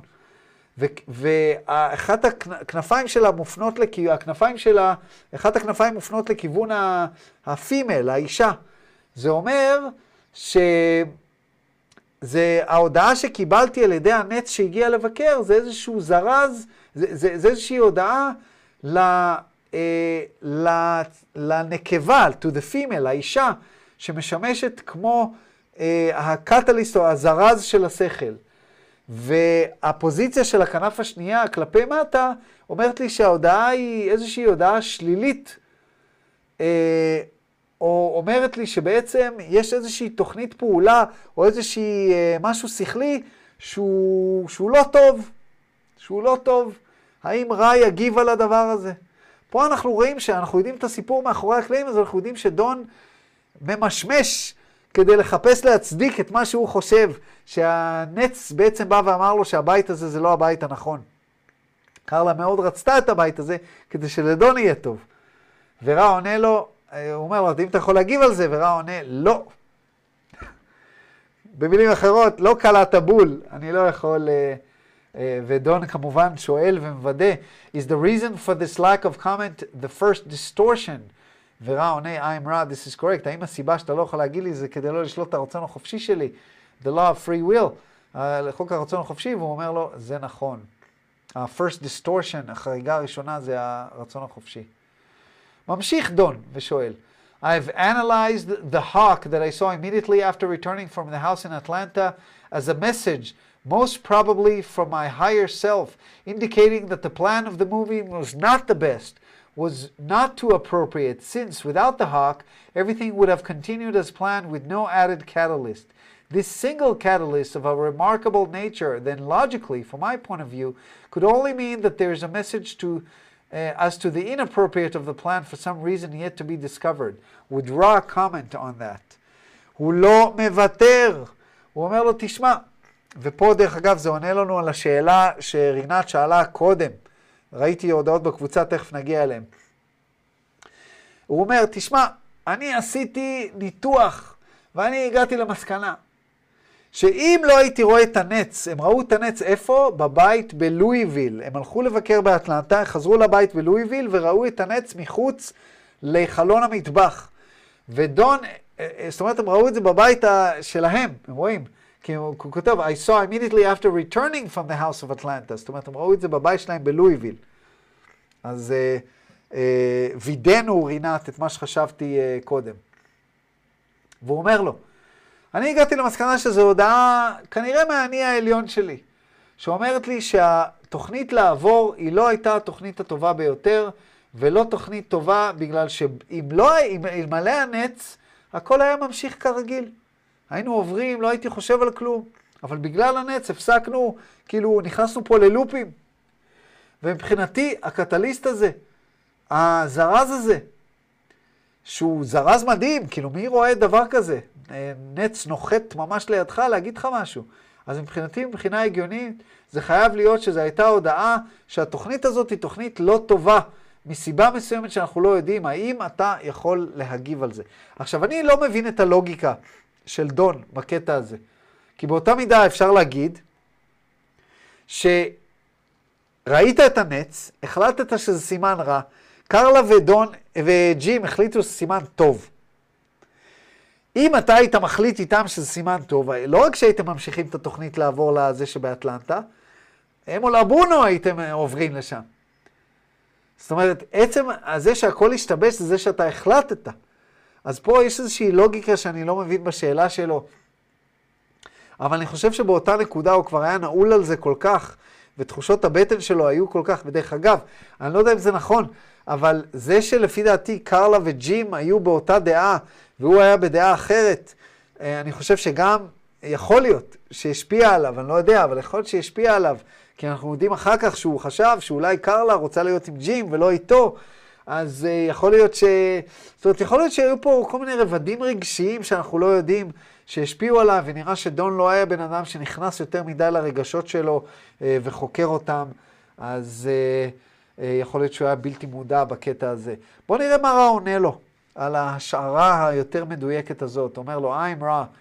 ואחת הכנפיים שלה מופנות לכיוון, הכנפיים שלה, אחת הכנפיים מופנות לכיוון הפימל, האישה. זה אומר שזה, ההודעה שקיבלתי על ידי הנץ שהגיע לבקר, זה איזשהו זרז, זה, זה, זה איזושהי הודעה ל, אה, ל, לנקבה, to the female, האישה, שמשמשת כמו אה, הקטליסט או הזרז של השכל. והפוזיציה של הכנף השנייה כלפי מטה אומרת לי שההודעה היא איזושהי הודעה שלילית, אה, או אומרת לי שבעצם יש איזושהי תוכנית פעולה או איזושהי אה, משהו שכלי שהוא, שהוא לא טוב, שהוא לא טוב. האם רע יגיב על הדבר הזה? פה אנחנו רואים שאנחנו יודעים את הסיפור מאחורי הקלעים, אז אנחנו יודעים שדון ממשמש כדי לחפש להצדיק את מה שהוא חושב, שהנץ בעצם בא ואמר לו שהבית הזה זה לא הבית הנכון. קרלה מאוד רצתה את הבית הזה כדי שלדון יהיה טוב. ורע עונה לו, הוא אומר לו, אם אתה יכול להגיב על זה, ורע עונה, לא. במילים אחרות, לא קלעת בול, אני לא יכול, ודון כמובן שואל ומוודא, is the reason for this lack of comment the first distortion? ורע עונה, I'm right, this is correct. האם הסיבה שאתה לא יכול להגיד לי זה כדי לא לשלוט את הרצון החופשי שלי? The law of free will, לחוק הרצון החופשי, והוא אומר לו, זה נכון. ה-first distortion, החריגה הראשונה, זה הרצון החופשי. ממשיך דון ושואל, I've analyzed the hawk that I saw immediately after returning from the house in Atlanta as a message, most probably from my higher self, indicating that the plan of the movie was not the best, was not too appropriate, since without the hawk, everything would have continued as planned with no added catalyst. This single catalyst of a remarkable nature, then logically, from my point of view, could only mean that there is a message to Uh, as to the inappropriate of the plan for some reason yet to be discovered. Would Ra comment on that? הוא לא מוותר. הוא אומר לו, תשמע, ופה דרך אגב זה עונה לנו על השאלה שרינת שאלה קודם. ראיתי הודעות בקבוצה, תכף נגיע אליהם. הוא אומר, תשמע, אני עשיתי ניתוח, ואני הגעתי למסקנה, שאם לא הייתי רואה את הנץ, הם ראו את הנץ איפה? בבית בלואיוויל. הם הלכו לבקר באטלנטה, חזרו לבית בלואיוויל וראו את הנץ מחוץ לחלון המטבח. ודון, זאת אומרת, הם ראו את זה בבית שלהם, הם רואים. כי הוא כותב, I saw immediately after returning from the house of Atlanta. זאת אומרת, הם ראו את זה בבית שלהם בלואיוויל. אז אה, אה, וידאנו רינת את מה שחשבתי אה, קודם. והוא אומר לו, אני הגעתי למסקנה שזו הודעה כנראה מהאני העליון שלי, שאומרת לי שהתוכנית לעבור היא לא הייתה התוכנית הטובה ביותר, ולא תוכנית טובה בגלל שאם לא, אם אלמלא הנץ, הכל היה ממשיך כרגיל. היינו עוברים, לא הייתי חושב על כלום, אבל בגלל הנץ הפסקנו, כאילו נכנסנו פה ללופים. ומבחינתי הקטליסט הזה, הזרז הזה, שהוא זרז מדהים, כאילו מי רואה דבר כזה? נץ נוחת ממש לידך להגיד לך משהו. אז מבחינתי, מבחינה הגיונית, זה חייב להיות שזו הייתה הודעה שהתוכנית הזאת היא תוכנית לא טובה, מסיבה מסוימת שאנחנו לא יודעים, האם אתה יכול להגיב על זה. עכשיו, אני לא מבין את הלוגיקה של דון בקטע הזה. כי באותה מידה אפשר להגיד שראית את הנץ, החלטת שזה סימן רע, קרלה ודון וג'ים החליטו שזה סימן טוב. אם אתה היית מחליט איתם שזה סימן טוב, לא רק שהייתם ממשיכים את התוכנית לעבור לזה שבאטלנטה, הם או לבונו הייתם עוברים לשם. זאת אומרת, עצם הזה שהכל השתבש זה זה שאתה החלטת. אז פה יש איזושהי לוגיקה שאני לא מבין בשאלה שלו. אבל אני חושב שבאותה נקודה הוא כבר היה נעול על זה כל כך, ותחושות הבטן שלו היו כל כך, בדרך אגב, אני לא יודע אם זה נכון, אבל זה שלפי דעתי קרלה וג'ים היו באותה דעה, והוא היה בדעה אחרת, אני חושב שגם יכול להיות שהשפיע עליו, אני לא יודע, אבל יכול להיות שהשפיע עליו, כי אנחנו יודעים אחר כך שהוא חשב שאולי קרלה רוצה להיות עם ג'ים ולא איתו, אז יכול להיות ש... זאת אומרת, יכול להיות שהיו פה כל מיני רבדים רגשיים שאנחנו לא יודעים שהשפיעו עליו, ונראה שדון לא היה בן אדם שנכנס יותר מדי לרגשות שלו וחוקר אותם, אז יכול להיות שהוא היה בלתי מודע בקטע הזה. בואו נראה מה רע עונה לו על ההשערה היותר מדויקת הזאת. אומר לו, I'm Ra.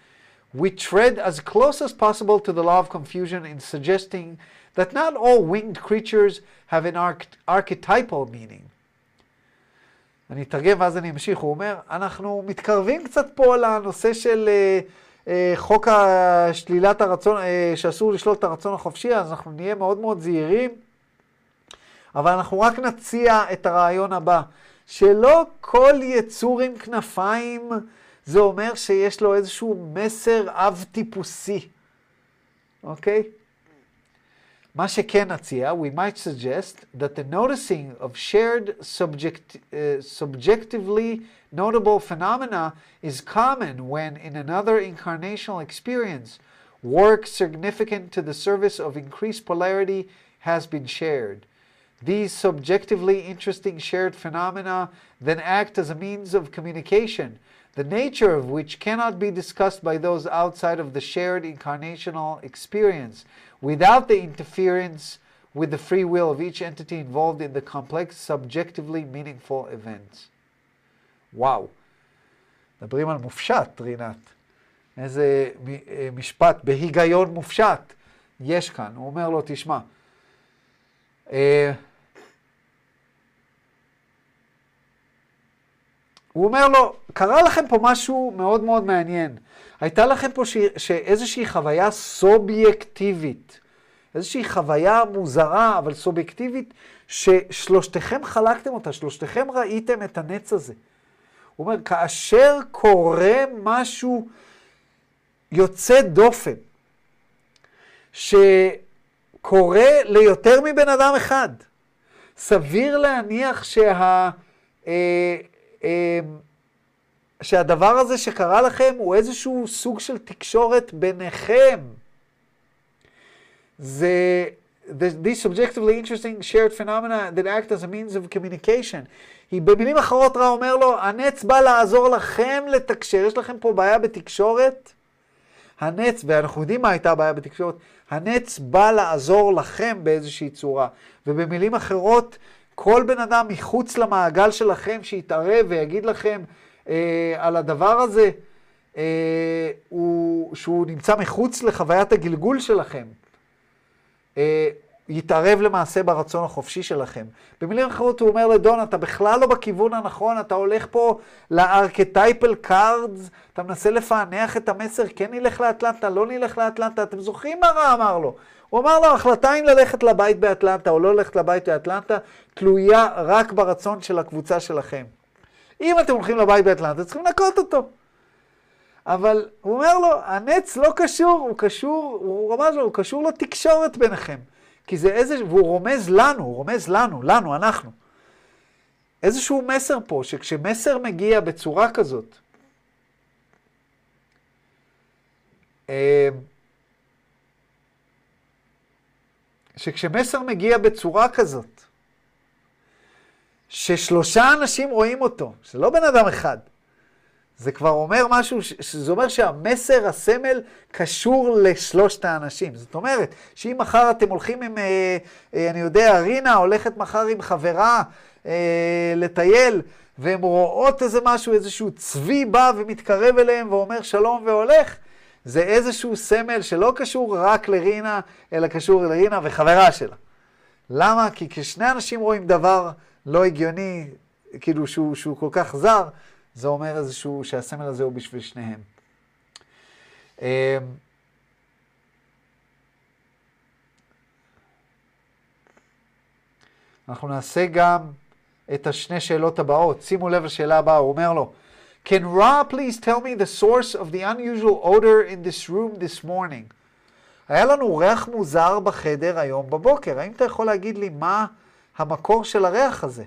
we tread as close as possible to the law of confusion in suggesting that not all winged creatures have an arch- archetypal meaning. אני אתרגם ואז אני אמשיך. הוא אומר, אנחנו מתקרבים קצת פה לנושא של אה, אה, חוק השלילת הרצון, אה, שאסור לשלול את הרצון החופשי, אז אנחנו נהיה מאוד מאוד זהירים, אבל אנחנו רק נציע את הרעיון הבא, שלא כל יצור עם כנפיים זה אומר שיש לו איזשהו מסר אב טיפוסי. אוקיי? מה שכן נציע, we might suggest that the noticing of shared subject, uh, subjectively notable phenomena is common when in another incarnational experience work significant to the service of increased polarity has been shared. These subjectively interesting shared phenomena then act as a means of communication, the nature of which cannot be discussed by those outside of the shared incarnational experience, without the interference with the free will of each entity involved in the complex, subjectively meaningful events. וואו, מדברים על מופשט, רינת. איזה משפט, בהיגיון מופשט, יש כאן. הוא אומר לו, תשמע, הוא אומר לו, קרה לכם פה משהו מאוד מאוד מעניין. הייתה לכם פה ש... שאיזושהי חוויה סובייקטיבית, איזושהי חוויה מוזרה, אבל סובייקטיבית, ששלושתכם חלקתם אותה, שלושתכם ראיתם את הנץ הזה. הוא אומר, כאשר קורה משהו יוצא דופן, שקורה ליותר מבן אדם אחד, סביר להניח שה... אה, אה, שהדבר הזה שקרה לכם הוא איזשהו סוג של תקשורת ביניכם. זה, these subjectively interesting shared phenomena that act as a means of communication. היא במילים אחרות רע אומר לו, הנץ בא לעזור לכם לתקשר, יש לכם פה בעיה בתקשורת, הנץ, ואנחנו יודעים מה הייתה הבעיה בתקשורת, הנץ בא לעזור לכם באיזושהי צורה, ובמילים אחרות, כל בן אדם מחוץ למעגל שלכם שיתערב ויגיד לכם, אה, על הדבר הזה, אה, הוא, שהוא נמצא מחוץ לחוויית הגלגול שלכם, אה, יתערב למעשה ברצון החופשי שלכם. במילים אחרות הוא אומר לדון, אתה בכלל לא בכיוון הנכון, אתה הולך פה לארכטייפל קארדס, אתה מנסה לפענח את המסר, כן נלך לאטלנטה, לא נלך לאטלנטה, אתם זוכרים מה רע אמר לו? הוא אמר לו, ההחלטה אם ללכת לבית באטלנטה או לא ללכת לבית באטלנטה, תלויה רק ברצון של הקבוצה שלכם. אם אתם הולכים לבית באטלנטה, צריכים לנקות אותו. אבל הוא אומר לו, הנץ לא קשור, הוא קשור, הוא רמז לו, הוא קשור לתקשורת ביניכם. כי זה איזה, והוא רומז לנו, הוא רומז לנו, לנו, אנחנו. איזשהו מסר פה, שכשמסר מגיע בצורה כזאת, שכשמסר מגיע בצורה כזאת, ששלושה אנשים רואים אותו, שזה לא בן אדם אחד, זה כבר אומר משהו, שזה אומר שהמסר, הסמל, קשור לשלושת האנשים. זאת אומרת, שאם מחר אתם הולכים עם, אה, אה, אני יודע, רינה הולכת מחר עם חברה אה, לטייל, והן רואות איזה משהו, איזשהו צבי בא ומתקרב אליהם ואומר שלום והולך, זה איזשהו סמל שלא קשור רק לרינה, אלא קשור לרינה וחברה שלה. למה? כי כשני אנשים רואים דבר לא הגיוני, כאילו שהוא, שהוא כל כך זר, זה אומר איזשהו, שהסמל הזה הוא בשביל שניהם. אנחנו נעשה גם את השני שאלות הבאות. שימו לב לשאלה הבאה, הוא אומר לו, Can Ra please tell me the source of the unusual odor in this room this morning? היה לנו ריח מוזר בחדר היום בבוקר. האם אתה יכול להגיד לי מה המקור של הריח הזה?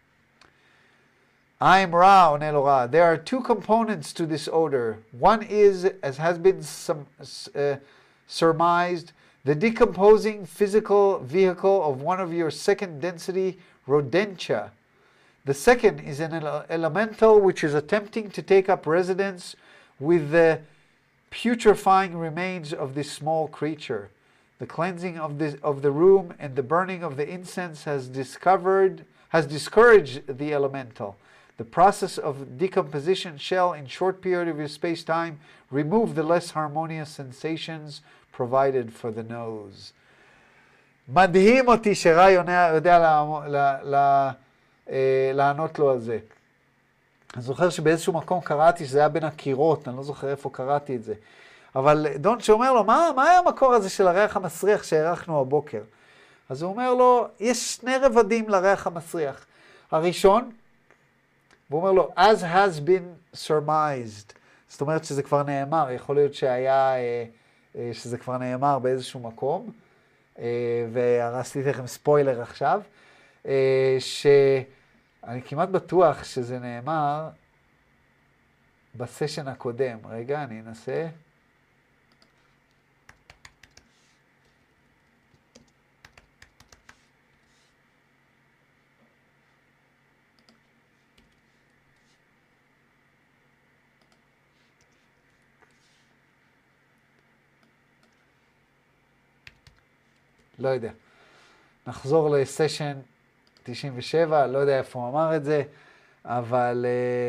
I'm Ra, עונה לו Ra. There are two components to this odor. One is, as has been some, uh, surmised, the decomposing physical vehicle of one of your second density rodentia. The second is an ele- elemental which is attempting to take up residence with the putrefying remains of this small creature. The cleansing of, this, of the room and the burning of the incense has discovered, has discouraged the elemental. The process of decomposition shall, in short period of your space-time, remove the less harmonious sensations provided for the nose. מדהים אותי שרעי יודע לה, לה, לה, אה, לענות לו על זה. אני זוכר שבאיזשהו מקום קראתי שזה היה בין הקירות, אני לא זוכר איפה קראתי את זה. אבל דון שאומר לו, מה, מה היה המקור הזה של הריח המסריח שהערכנו הבוקר? אז הוא אומר לו, יש שני רבדים לריח המסריח. הראשון, והוא אומר לו, as has been surmised. זאת אומרת שזה כבר נאמר, יכול להיות שהיה, שזה כבר נאמר באיזשהו מקום, והרסתי לכם ספוילר עכשיו, שאני כמעט בטוח שזה נאמר בסשן הקודם. רגע, אני אנסה. לא יודע. נחזור לסשן תשעים ושבע, לא יודע איפה הוא אמר את זה, אבל...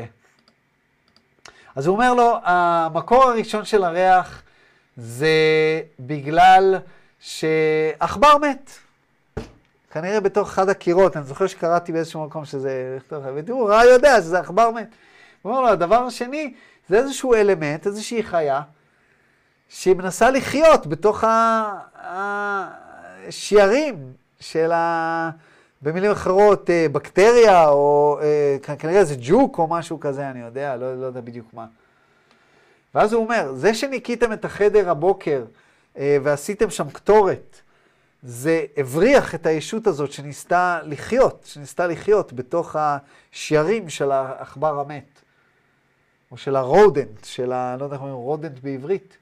אז הוא אומר לו, המקור הראשון של הריח זה בגלל שעכבר מת. כנראה בתוך אחד הקירות, אני זוכר שקראתי באיזשהו מקום שזה... ותראו, רע יודע שזה עכבר מת. הוא אומר לו, הדבר השני זה איזשהו אלמנט, איזושהי חיה, שהיא מנסה לחיות בתוך ה... שיירים של ה... במילים אחרות, בקטריה, או כנראה זה ג'וק או משהו כזה, אני יודע, לא, לא יודע בדיוק מה. ואז הוא אומר, זה שניקיתם את החדר הבוקר ועשיתם שם קטורת, זה הבריח את הישות הזאת שניסתה לחיות, שניסתה לחיות בתוך השיירים של העכבר המת, או של הרודנט, של ה... לא יודע איך אומרים, רודנט בעברית.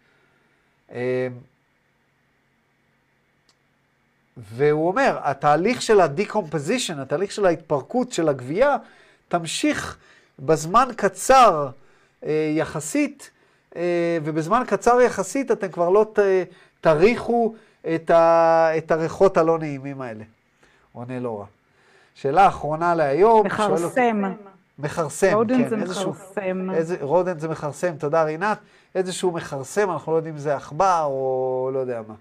והוא אומר, התהליך של ה-decomposition, התהליך של ההתפרקות של הגבייה, תמשיך בזמן קצר אה, יחסית, אה, ובזמן קצר יחסית אתם כבר לא ת, תריחו את, ה, את הריחות הלא נעימים האלה. עונה לא רע. שאלה אחרונה להיום. מכרסם. מכרסם, רודנט כן. זה איזשהו, מכרסם. איזה, רודנט זה מכרסם, תודה רינת. איזשהו מכרסם, אנחנו לא יודעים אם זה עכבר או לא יודע מה.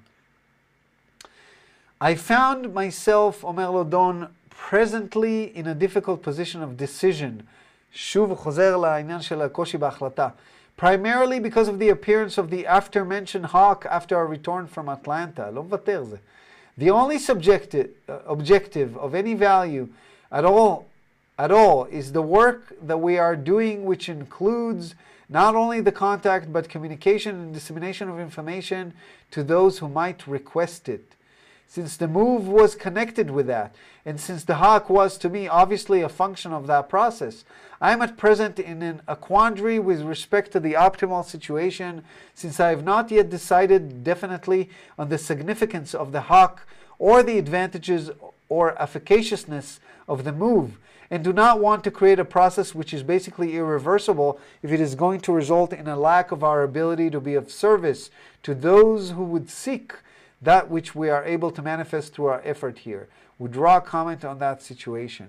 I found myself, אומר לו דון, presently in a difficult position of decision. שוב הוא חוזר לעניין של הקושי בהחלטה. Primarily because of the appearance of the after-mentioned hawk after our return from Atlanta. לא מוותר זה. The only subjective, uh, objective of any value at all, at all is the work that we are doing, which includes not only the contact but communication and dissemination of information to those who might request it. Since the move was connected with that, and since the hawk was to me obviously a function of that process, I am at present in an, a quandary with respect to the optimal situation, since I have not yet decided definitely on the significance of the hawk or the advantages or efficaciousness of the move, and do not want to create a process which is basically irreversible if it is going to result in a lack of our ability to be of service to those who would seek that which we are able to manifest through our effort here. We draw a comment on that situation.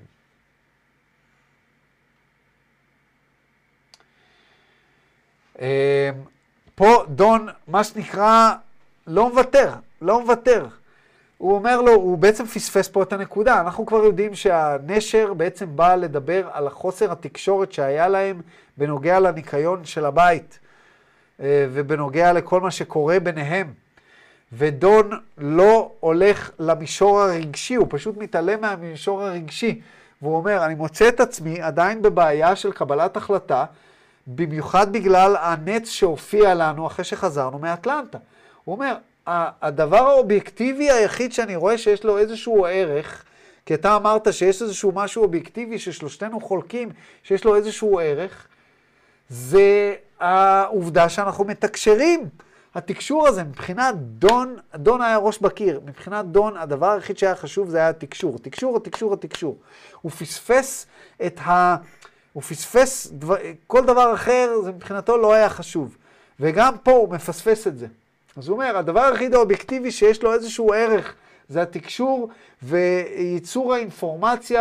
פה דון, מה שנקרא, לא מוותר, לא מוותר. הוא אומר לו, הוא בעצם פספס פה את הנקודה. אנחנו כבר יודעים שהנשר בעצם בא לדבר על החוסר התקשורת שהיה להם בנוגע לניקיון של הבית, ובנוגע לכל מה שקורה ביניהם. ודון לא הולך למישור הרגשי, הוא פשוט מתעלם מהמישור הרגשי. והוא אומר, אני מוצא את עצמי עדיין בבעיה של קבלת החלטה, במיוחד בגלל הנץ שהופיע לנו אחרי שחזרנו מאטלנטה. הוא אומר, הדבר האובייקטיבי היחיד שאני רואה שיש לו איזשהו ערך, כי אתה אמרת שיש איזשהו משהו אובייקטיבי ששלושתנו חולקים, שיש לו איזשהו ערך, זה העובדה שאנחנו מתקשרים. התקשור הזה, מבחינת דון, דון היה ראש בקיר, מבחינת דון, הדבר היחיד שהיה חשוב זה היה התקשור. התקשור, התקשור, התקשור. הוא פספס את ה... הוא פספס דבר, כל דבר אחר, זה מבחינתו לא היה חשוב. וגם פה הוא מפספס את זה. אז הוא אומר, הדבר היחיד האובייקטיבי שיש לו איזשהו ערך, זה התקשור וייצור האינפורמציה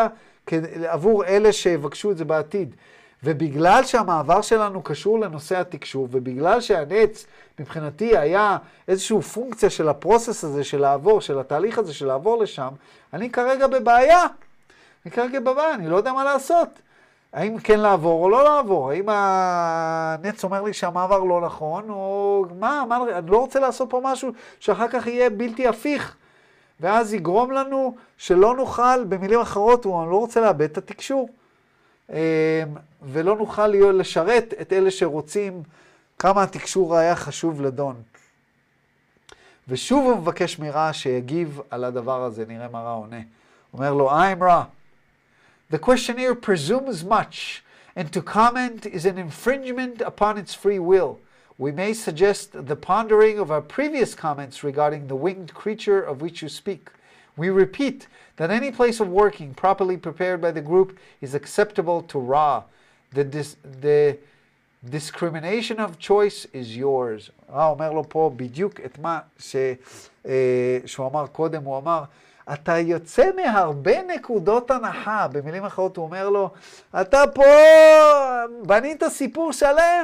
עבור אלה שיבקשו את זה בעתיד. ובגלל שהמעבר שלנו קשור לנושא התקשוב, ובגלל שהנץ מבחינתי היה איזושהי פונקציה של הפרוסס הזה של לעבור, של התהליך הזה של לעבור לשם, אני כרגע בבעיה. אני כרגע בבעיה, אני לא יודע מה לעשות. האם כן לעבור או לא לעבור? האם הנץ אומר לי שהמעבר לא נכון, או מה, מה, אני לא רוצה לעשות פה משהו שאחר כך יהיה בלתי הפיך. ואז יגרום לנו שלא נוכל, במילים אחרות, אני לא רוצה לאבד את התקשור. ולא נוכל לשרת את אלה שרוצים כמה התקשור היה חשוב לדון. ושוב הוא מבקש מרע שיגיב על הדבר הזה, נראה מה רע עונה. אומר לו, I'm Ra. The questionnaire presumes much, and to comment is an infringement upon its free will. We may suggest the pondering of our previous comments regarding the winged creature of which you speak. We repeat that any place of working properly prepared by the group is acceptable to Ra. The, dis the discrimination of choice is yours. רע אומר לו פה בדיוק את מה ש, אה, שהוא אמר קודם, הוא אמר, אתה יוצא מהרבה נקודות הנחה. במילים אחרות הוא אומר לו, אתה פה בנית סיפור שלם.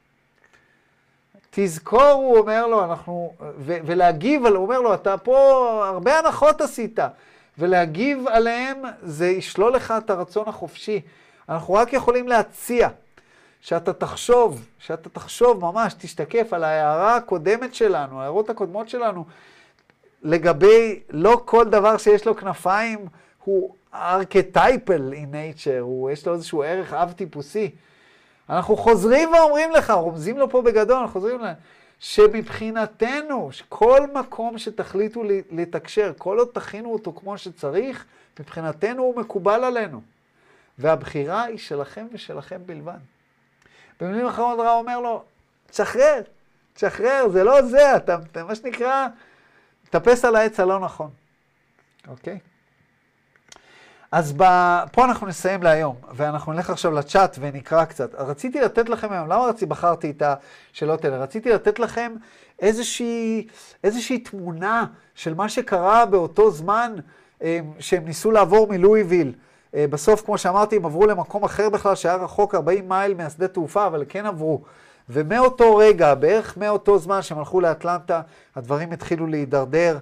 תזכור, הוא אומר לו, אנחנו, ו, ולהגיב, הוא אומר לו, אתה פה הרבה הנחות עשית, ולהגיב עליהם זה ישלול לך את הרצון החופשי. אנחנו רק יכולים להציע שאתה תחשוב, שאתה תחשוב ממש, תשתקף על ההערה הקודמת שלנו, ההערות הקודמות שלנו, לגבי לא כל דבר שיש לו כנפיים הוא archetypal in nature, הוא, יש לו איזשהו ערך אב טיפוסי. אנחנו חוזרים ואומרים לך, רומזים לו פה בגדול, אנחנו חוזרים להם, שמבחינתנו, כל מקום שתחליטו לתקשר, כל עוד תכינו אותו כמו שצריך, מבחינתנו הוא מקובל עלינו. והבחירה היא שלכם ושלכם בלבד. במילים אחרות רע אומר לו, תשחרר, תשחרר, זה לא זה, אתה, אתה מה שנקרא, תפס על העץ הלא נכון. אוקיי? אז ב... פה אנחנו נסיים להיום, ואנחנו נלך עכשיו לצ'אט ונקרא קצת. רציתי לתת לכם היום, למה רציתי, בחרתי את השאלות האלה? רציתי לתת לכם איזושהי, איזושהי תמונה של מה שקרה באותו זמן שהם ניסו לעבור מלואיוויל. בסוף, כמו שאמרתי, הם עברו למקום אחר בכלל, שהיה רחוק ארבעים מייל מהשדה תעופה, אבל כן עברו. ומאותו רגע, בערך מאותו זמן שהם הלכו לאטלנטה, הדברים התחילו להידרדר,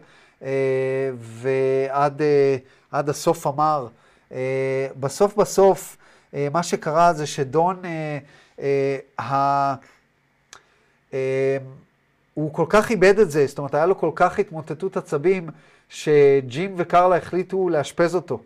ועד עד הסוף אמר. בסוף בסוף, מה שקרה זה שדון, הוא כל כך איבד את זה, זאת אומרת, היה לו כל כך התמוטטות עצבים, שג'ים וקרלה החליטו לאשפז אותו.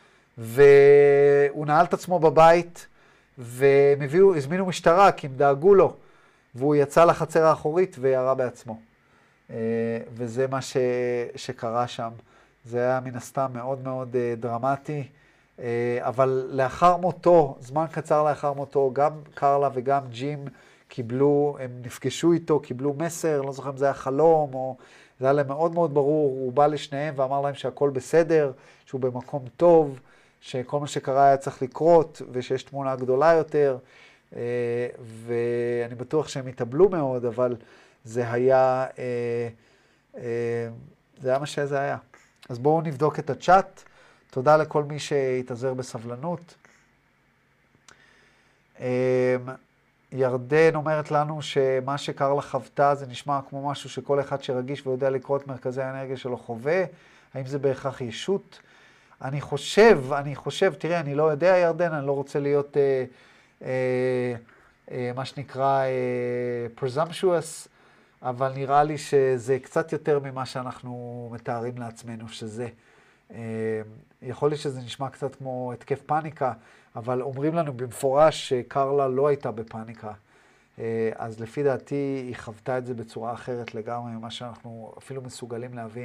והוא נעל את עצמו בבית, והם הביאו, הזמינו משטרה, כי הם דאגו לו, והוא יצא לחצר האחורית וירה בעצמו. וזה מה ש... שקרה שם. זה היה מן הסתם מאוד מאוד דרמטי, אבל לאחר מותו, זמן קצר לאחר מותו, גם קרלה וגם ג'ים קיבלו, הם נפגשו איתו, קיבלו מסר, לא זוכר אם זה היה חלום, או זה היה להם מאוד מאוד ברור, הוא בא לשניהם ואמר להם שהכל בסדר, שהוא במקום טוב, שכל מה שקרה היה צריך לקרות, ושיש תמונה גדולה יותר, ואני בטוח שהם התאבלו מאוד, אבל זה היה, זה היה מה שזה היה. אז בואו נבדוק את הצ'אט. תודה לכל מי שהתאזר בסבלנות. ירדן אומרת לנו שמה שקרלה חוותה זה נשמע כמו משהו שכל אחד שרגיש ויודע לקרוא את מרכזי האנרגיה שלו חווה. האם זה בהכרח ישות? אני חושב, אני חושב, תראה, אני לא יודע ירדן, אני לא רוצה להיות אה, אה, אה, מה שנקרא אה, presumptuous, אבל נראה לי שזה קצת יותר ממה שאנחנו מתארים לעצמנו שזה. יכול להיות שזה נשמע קצת כמו התקף פאניקה, אבל אומרים לנו במפורש שקרלה לא הייתה בפאניקה. אז לפי דעתי היא חוותה את זה בצורה אחרת לגמרי ממה שאנחנו אפילו מסוגלים להבין.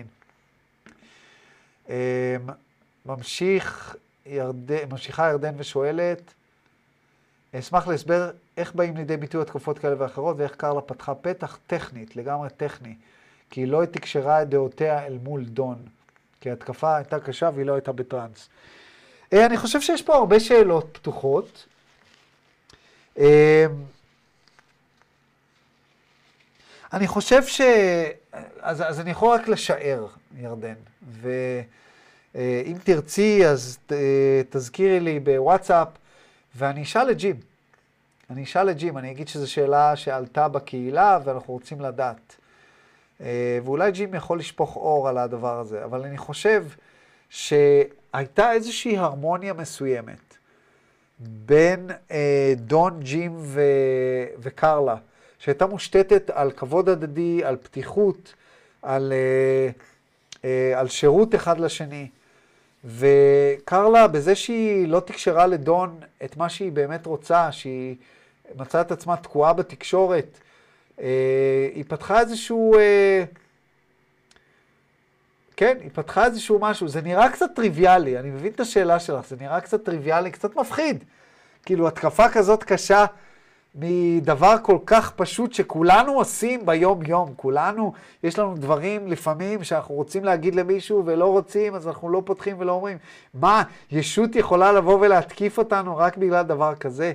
ממשיך ירדן, ממשיכה ירדן ושואלת, אשמח להסבר איך באים לידי ביטוי התקופות כאלה ואחרות, ואיך קרלה פתחה פתח טכנית, לגמרי טכני, כי היא לא תקשרה את דעותיה אל מול דון, כי ההתקפה הייתה קשה והיא לא הייתה בטרנס. אני חושב שיש פה הרבה שאלות פתוחות. אני חושב ש... אז, אז אני יכול רק לשער, ירדן, ו... אם תרצי, אז תזכירי לי בוואטסאפ, ואני אשאל את ג'ים. אני אשאל את ג'ים, אני אגיד שזו שאלה שעלתה בקהילה, ואנחנו רוצים לדעת. ואולי ג'ים יכול לשפוך אור על הדבר הזה, אבל אני חושב שהייתה איזושהי הרמוניה מסוימת בין דון, ג'ים ו... וקרלה, שהייתה מושתתת על כבוד הדדי, על פתיחות, על, על שירות אחד לשני. וקרלה, בזה שהיא לא תקשרה לדון את מה שהיא באמת רוצה, שהיא מצאה את עצמה תקועה בתקשורת, היא פתחה איזשהו, כן, היא פתחה איזשהו משהו, זה נראה קצת טריוויאלי, אני מבין את השאלה שלך, זה נראה קצת טריוויאלי, קצת מפחיד. כאילו, התקפה כזאת קשה מדבר כל כך פשוט שכולנו עושים ביום-יום, כולנו, יש לנו דברים לפעמים שאנחנו רוצים להגיד למישהו ולא רוצים, אז אנחנו לא פותחים ולא אומרים, מה, ישות יכולה לבוא ולהתקיף אותנו רק בגלל דבר כזה?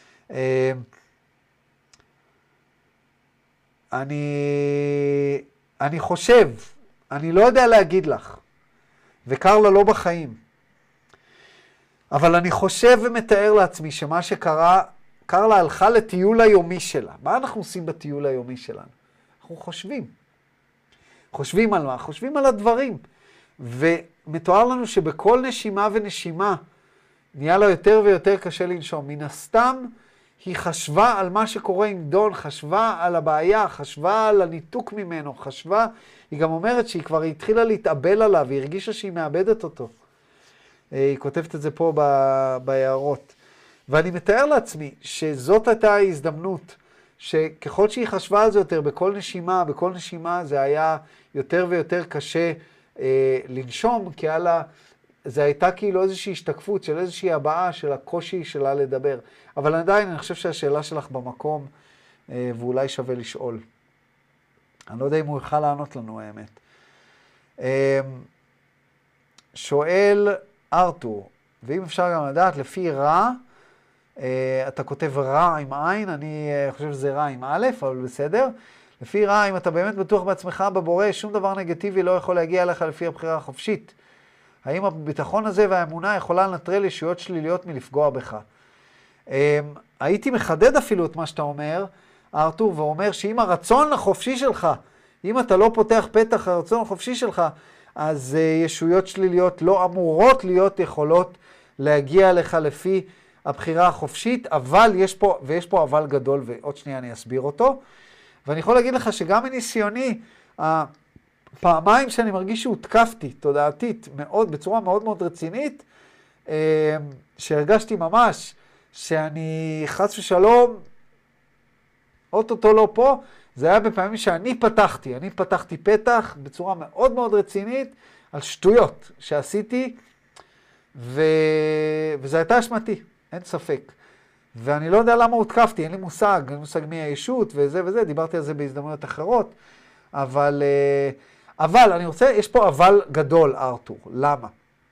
אני, אני חושב, אני לא יודע להגיד לך, וקרלה לא בחיים, אבל אני חושב ומתאר לעצמי שמה שקרה, קרלה הלכה לטיול היומי שלה. מה אנחנו עושים בטיול היומי שלנו? אנחנו חושבים. חושבים על מה? חושבים על הדברים. ומתואר לנו שבכל נשימה ונשימה נהיה לה יותר ויותר קשה לנשום. מן הסתם היא חשבה על מה שקורה עם דון, חשבה על הבעיה, חשבה על הניתוק ממנו, חשבה, היא גם אומרת שהיא כבר התחילה להתאבל עליו, היא הרגישה שהיא מאבדת אותו. היא כותבת את זה פה בהערות. ואני מתאר לעצמי שזאת הייתה ההזדמנות, שככל שהיא חשבה על זה יותר, בכל נשימה, בכל נשימה זה היה יותר ויותר קשה אה, לנשום, כי הלאה, זה הייתה כאילו איזושהי השתקפות של איזושהי הבעה של הקושי שלה לדבר. אבל עדיין אני חושב שהשאלה שלך במקום, אה, ואולי שווה לשאול. אני לא יודע אם הוא יוכל לענות לנו האמת. אה, שואל ארתור, ואם אפשר גם לדעת, לפי רע, Uh, אתה כותב רע עם עין, אני uh, חושב שזה רע עם א', אבל בסדר. לפי רע, אם אתה באמת בטוח בעצמך בבורא, שום דבר נגטיבי לא יכול להגיע אליך לפי הבחירה החופשית. האם הביטחון הזה והאמונה יכולה לנטרל ישויות שליליות מלפגוע בך? Um, הייתי מחדד אפילו את מה שאתה אומר, ארתור, ואומר שאם הרצון החופשי שלך, אם אתה לא פותח פתח הרצון החופשי שלך, אז uh, ישויות שליליות לא אמורות להיות יכולות להגיע אליך לפי הבחירה החופשית, אבל יש פה, ויש פה אבל גדול, ועוד שנייה אני אסביר אותו, ואני יכול להגיד לך שגם מניסיוני, הפעמיים שאני מרגיש שהותקפתי, תודעתית, מאוד, בצורה מאוד מאוד רצינית, שהרגשתי ממש שאני חס ושלום, אוטוטו לא פה, זה היה בפעמים שאני פתחתי, אני פתחתי פתח בצורה מאוד מאוד רצינית, על שטויות שעשיתי, ו... וזה הייתה אשמתי. אין ספק. ואני לא יודע למה הותקפתי, אין לי מושג, אין לי מושג מי הישות וזה וזה, דיברתי על זה בהזדמנויות אחרות, אבל, אבל אני רוצה, יש פה אבל גדול, ארתור. למה?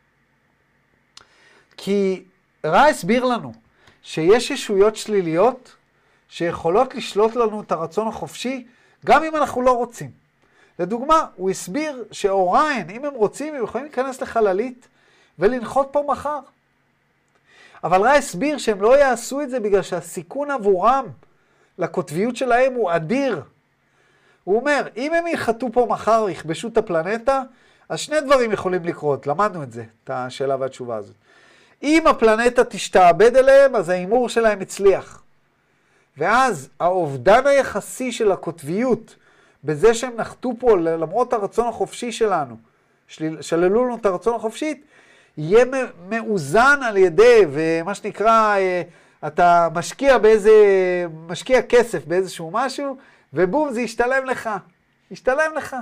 כי רע הסביר לנו שיש ישויות שליליות שיכולות לשלוט לנו את הרצון החופשי, גם אם אנחנו לא רוצים. לדוגמה, הוא הסביר שאוריין, אם הם רוצים, הם יכולים להיכנס לחללית ולנחות פה מחר. אבל רע הסביר שהם לא יעשו את זה בגלל שהסיכון עבורם לקוטביות שלהם הוא אדיר. הוא אומר, אם הם יחתו פה מחר, יכבשו את הפלנטה, אז שני דברים יכולים לקרות. למדנו את זה, את השאלה והתשובה הזאת. אם הפלנטה תשתעבד אליהם, אז האימור שלהם הצליח. ואז האובדן היחסי של הקוטביות, בזה שהם נחתו פה למרות הרצון החופשי שלנו, שללו לנו את הרצון החופשית, יהיה מאוזן על ידי, ומה שנקרא, אתה משקיע באיזה, משקיע כסף באיזשהו משהו, ובום, זה ישתלם לך. ישתלם לך.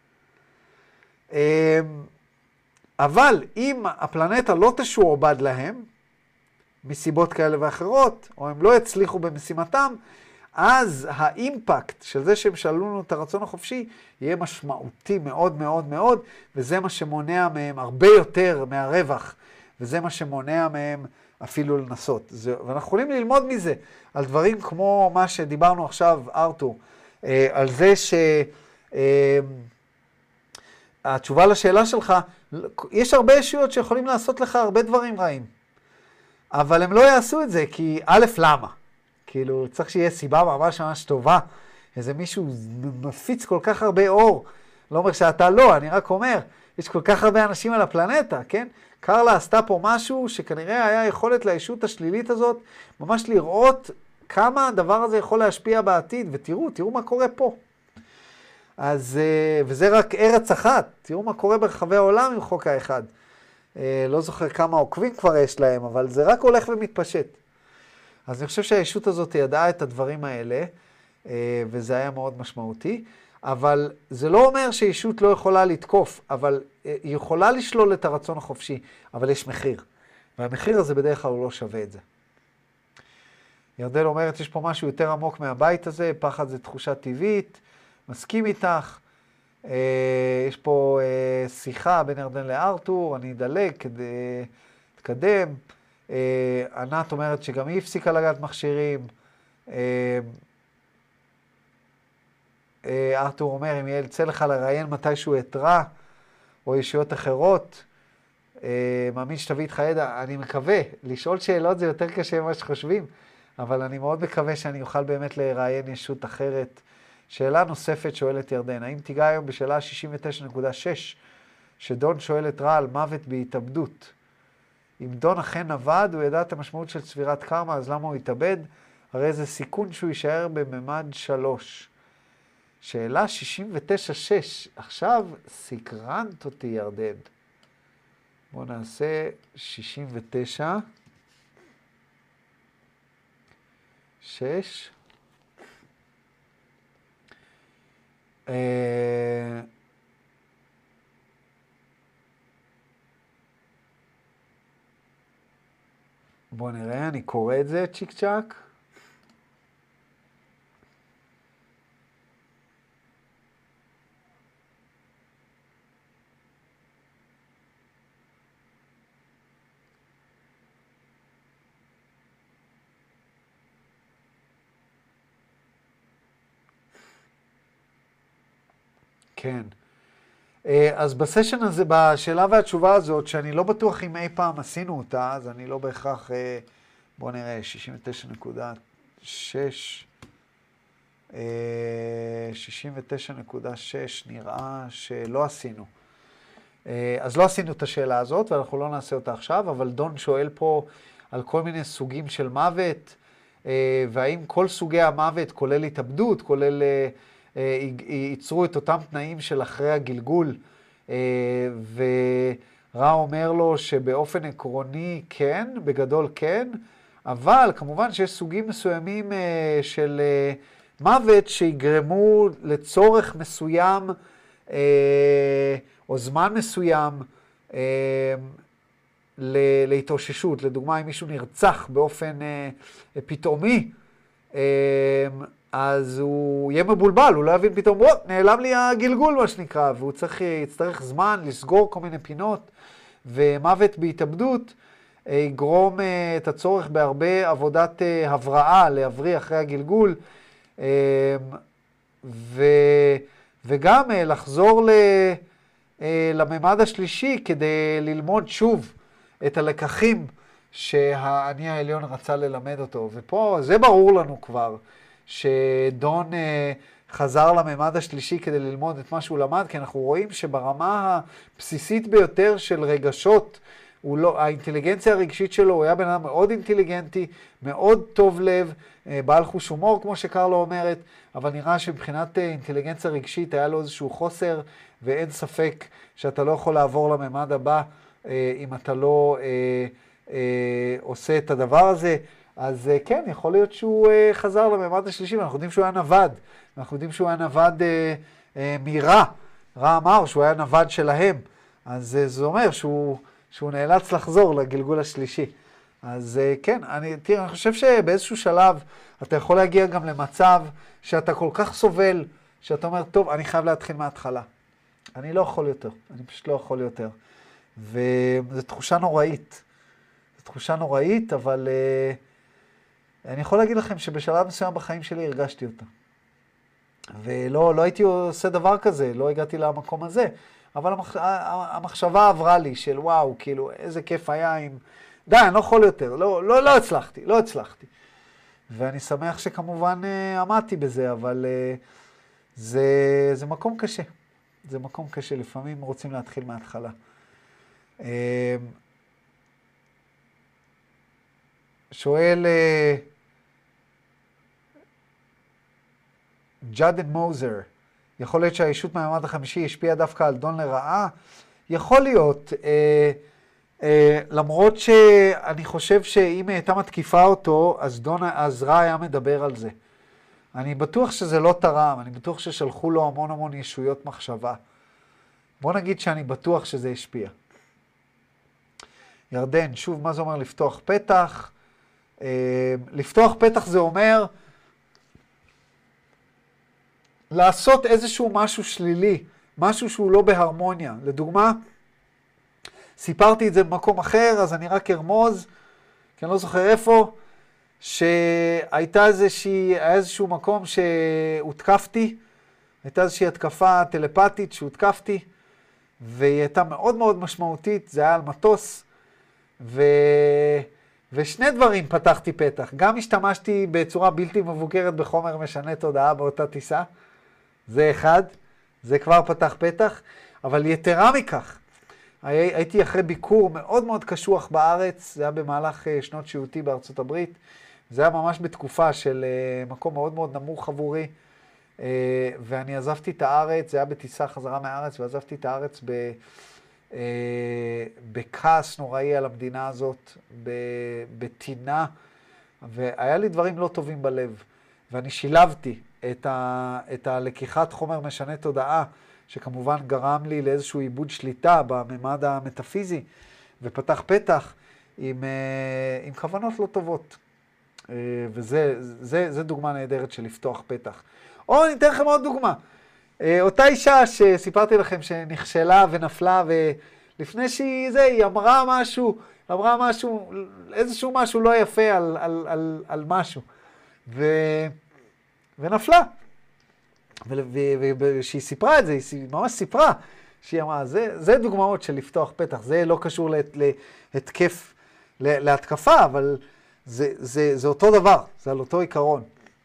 אבל אם הפלנטה לא תשועבד להם, מסיבות כאלה ואחרות, או הם לא יצליחו במשימתם, אז האימפקט של זה שהם שללו לנו את הרצון החופשי, יהיה משמעותי מאוד מאוד מאוד, וזה מה שמונע מהם הרבה יותר מהרווח, וזה מה שמונע מהם אפילו לנסות. זה, ואנחנו יכולים ללמוד מזה, על דברים כמו מה שדיברנו עכשיו, ארתור, אה, על זה ש... אה, התשובה לשאלה שלך, יש הרבה ישויות שיכולים לעשות לך הרבה דברים רעים. אבל הם לא יעשו את זה, כי א', למה? כאילו, צריך שיהיה סיבה ממש ממש טובה. איזה מישהו מפיץ כל כך הרבה אור. לא אומר שאתה לא, אני רק אומר, יש כל כך הרבה אנשים על הפלנטה, כן? קרלה עשתה פה משהו שכנראה היה יכולת לישות השלילית הזאת, ממש לראות כמה הדבר הזה יכול להשפיע בעתיד, ותראו, תראו מה קורה פה. אז, וזה רק ארץ אחת, תראו מה קורה ברחבי העולם עם חוק האחד. לא זוכר כמה עוקבים כבר יש להם, אבל זה רק הולך ומתפשט. אז אני חושב שהישות הזאת ידעה את הדברים האלה, וזה היה מאוד משמעותי, אבל זה לא אומר שישות לא יכולה לתקוף, אבל היא יכולה לשלול את הרצון החופשי, אבל יש מחיר. והמחיר הזה בדרך כלל הוא לא שווה את זה. ירדן אומרת, יש פה משהו יותר עמוק מהבית הזה, פחד זה תחושה טבעית, מסכים איתך. יש פה שיחה בין ירדן לארתור, אני אדלג כדי להתקדם. ענת אומרת שגם היא הפסיקה לגעת מכשירים. ארתור אומר, אם יצא לך לראיין מתישהו אתרע, או ישויות אחרות, מאמין שתביא איתך ידע, אני מקווה, לשאול שאלות זה יותר קשה ממה שחושבים, אבל אני מאוד מקווה שאני אוכל באמת לראיין ישות אחרת. שאלה נוספת שואלת ירדן, האם תיגע היום בשאלה שישים ותשע נקודה שש, שדון שואל את רעל מוות בהתאבדות? אם דון אכן עבד, הוא ידע את המשמעות של צבירת קרמה, אז למה הוא יתאבד? הרי זה סיכון שהוא יישאר בממד שלוש. שאלה שישים ותשע שש, עכשיו סקרנת אותי ירדן. בואו נעשה שישים ותשע שש. אה... בואו נראה, אני קורא את זה צ'יק צ'ק. כן. אז בסשן הזה, בשאלה והתשובה הזאת, שאני לא בטוח אם אי פעם עשינו אותה, אז אני לא בהכרח, בוא נראה, שישים ותשע נקודה שש, שישים ותשע נקודה שש נראה שלא עשינו. אז לא עשינו את השאלה הזאת, ואנחנו לא נעשה אותה עכשיו, אבל דון שואל פה על כל מיני סוגים של מוות, והאם כל סוגי המוות, כולל התאבדות, כולל... ייצרו את אותם תנאים של אחרי הגלגול, ורע אומר לו שבאופן עקרוני כן, בגדול כן, אבל כמובן שיש סוגים מסוימים של מוות שיגרמו לצורך מסוים או זמן מסוים להתאוששות. לדוגמה, אם מישהו נרצח באופן פתאומי, אז הוא יהיה מבולבל, הוא לא יבין פתאום, וואו, נעלם לי הגלגול מה שנקרא, והוא צריך, יצטרך זמן לסגור כל מיני פינות, ומוות בהתאבדות יגרום את הצורך בהרבה עבודת הבראה, להבריא אחרי הגלגול, ו, וגם לחזור ל, לממד השלישי כדי ללמוד שוב את הלקחים שהאני העליון רצה ללמד אותו. ופה זה ברור לנו כבר, שדון חזר לממד השלישי כדי ללמוד את מה שהוא למד, כי אנחנו רואים שברמה הבסיסית ביותר של רגשות, הוא לא, האינטליגנציה הרגשית שלו, הוא היה בן אדם מאוד אינטליגנטי, מאוד טוב לב, בעל חוש הומור כמו שקרלה אומרת, אבל נראה שמבחינת אינטליגנציה רגשית היה לו איזשהו חוסר, ואין ספק שאתה לא יכול לעבור לממד הבא אם אתה לא אה, אה, עושה את הדבר הזה. אז כן, יכול להיות שהוא חזר לממד השלישי, ואנחנו יודעים שהוא היה נווד, אנחנו יודעים שהוא היה נווד אה, אה, מרע, רע אמר שהוא היה נווד שלהם, אז זה אומר שהוא, שהוא נאלץ לחזור לגלגול השלישי. אז כן, אני, תראה, אני חושב שבאיזשהו שלב אתה יכול להגיע גם למצב שאתה כל כך סובל, שאתה אומר, טוב, אני חייב להתחיל מההתחלה. אני לא יכול יותר, אני פשוט לא יכול יותר. וזו תחושה נוראית. זו תחושה נוראית, אבל uh, אני יכול להגיד לכם שבשלב מסוים בחיים שלי הרגשתי אותה. ולא לא הייתי עושה דבר כזה, לא הגעתי למקום הזה, אבל המח... המחשבה עברה לי של וואו, כאילו, איזה כיף היה עם... די, אני לא יכול יותר, לא, לא, לא הצלחתי, לא הצלחתי. ואני שמח שכמובן uh, עמדתי בזה, אבל uh, זה, זה מקום קשה. זה מקום קשה, לפעמים רוצים להתחיל מההתחלה. Uh, שואל uh, ג'אדן מוזר, יכול להיות שהאישות מהמעמד החמישי השפיעה דווקא על דון לרעה? יכול להיות, אה, אה, למרות שאני חושב שאם הייתה מתקיפה אותו, אז, דון, אז רע היה מדבר על זה. אני בטוח שזה לא תרם, אני בטוח ששלחו לו המון המון ישויות מחשבה. בוא נגיד שאני בטוח שזה השפיע. ירדן, שוב, מה זה אומר לפתוח פתח? אה, לפתוח פתח זה אומר... לעשות איזשהו משהו שלילי, משהו שהוא לא בהרמוניה. לדוגמה, סיפרתי את זה במקום אחר, אז אני רק ארמוז, כי אני לא זוכר איפה, שהייתה איזושהי, היה איזשהו מקום שהותקפתי, הייתה איזושהי התקפה טלפתית שהותקפתי, והיא הייתה מאוד מאוד משמעותית, זה היה על מטוס, ו... ושני דברים פתחתי פתח. גם השתמשתי בצורה בלתי מבוקרת בחומר משנה תודעה באותה טיסה, זה אחד, זה כבר פתח פתח, אבל יתרה מכך, הייתי אחרי ביקור מאוד מאוד קשוח בארץ, זה היה במהלך שנות שהותי בארצות הברית, זה היה ממש בתקופה של מקום מאוד מאוד נמוך עבורי, ואני עזבתי את הארץ, זה היה בטיסה חזרה מהארץ, ועזבתי את הארץ ב... בכעס נוראי על המדינה הזאת, בטינה, והיה לי דברים לא טובים בלב, ואני שילבתי את, ה, את הלקיחת חומר משנה תודעה, שכמובן גרם לי לאיזשהו עיבוד שליטה בממד המטאפיזי, ופתח פתח עם, עם כוונות לא טובות. וזה זה, זה דוגמה נהדרת של לפתוח פתח. או אני אתן לכם עוד דוגמה. אותה אישה שסיפרתי לכם שנכשלה ונפלה, ולפני שהיא זה, היא אמרה משהו, אמרה משהו, איזשהו משהו לא יפה על, על, על, על משהו. ו... ונפלה. וכשהיא סיפרה את זה, היא ממש סיפרה, שהיא אמרה, זה, זה דוגמאות של לפתוח פתח, זה לא קשור להת, להתקף, להתקפה, אבל זה, זה, זה אותו דבר, זה על אותו עיקרון.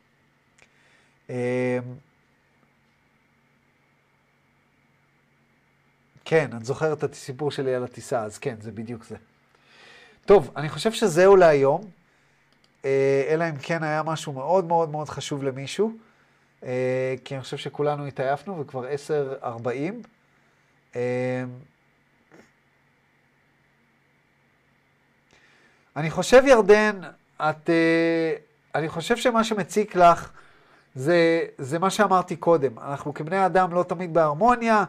כן, את זוכרת את הסיפור שלי על הטיסה, אז כן, זה בדיוק זה. טוב, אני חושב שזהו להיום, אלא אם כן היה משהו מאוד מאוד מאוד חשוב למישהו, כי אני חושב שכולנו התעייפנו וכבר עשר ארבעים. אני חושב, ירדן, את, אני חושב שמה שמציק לך זה, זה מה שאמרתי קודם. אנחנו כבני אדם לא תמיד בהרמוניה,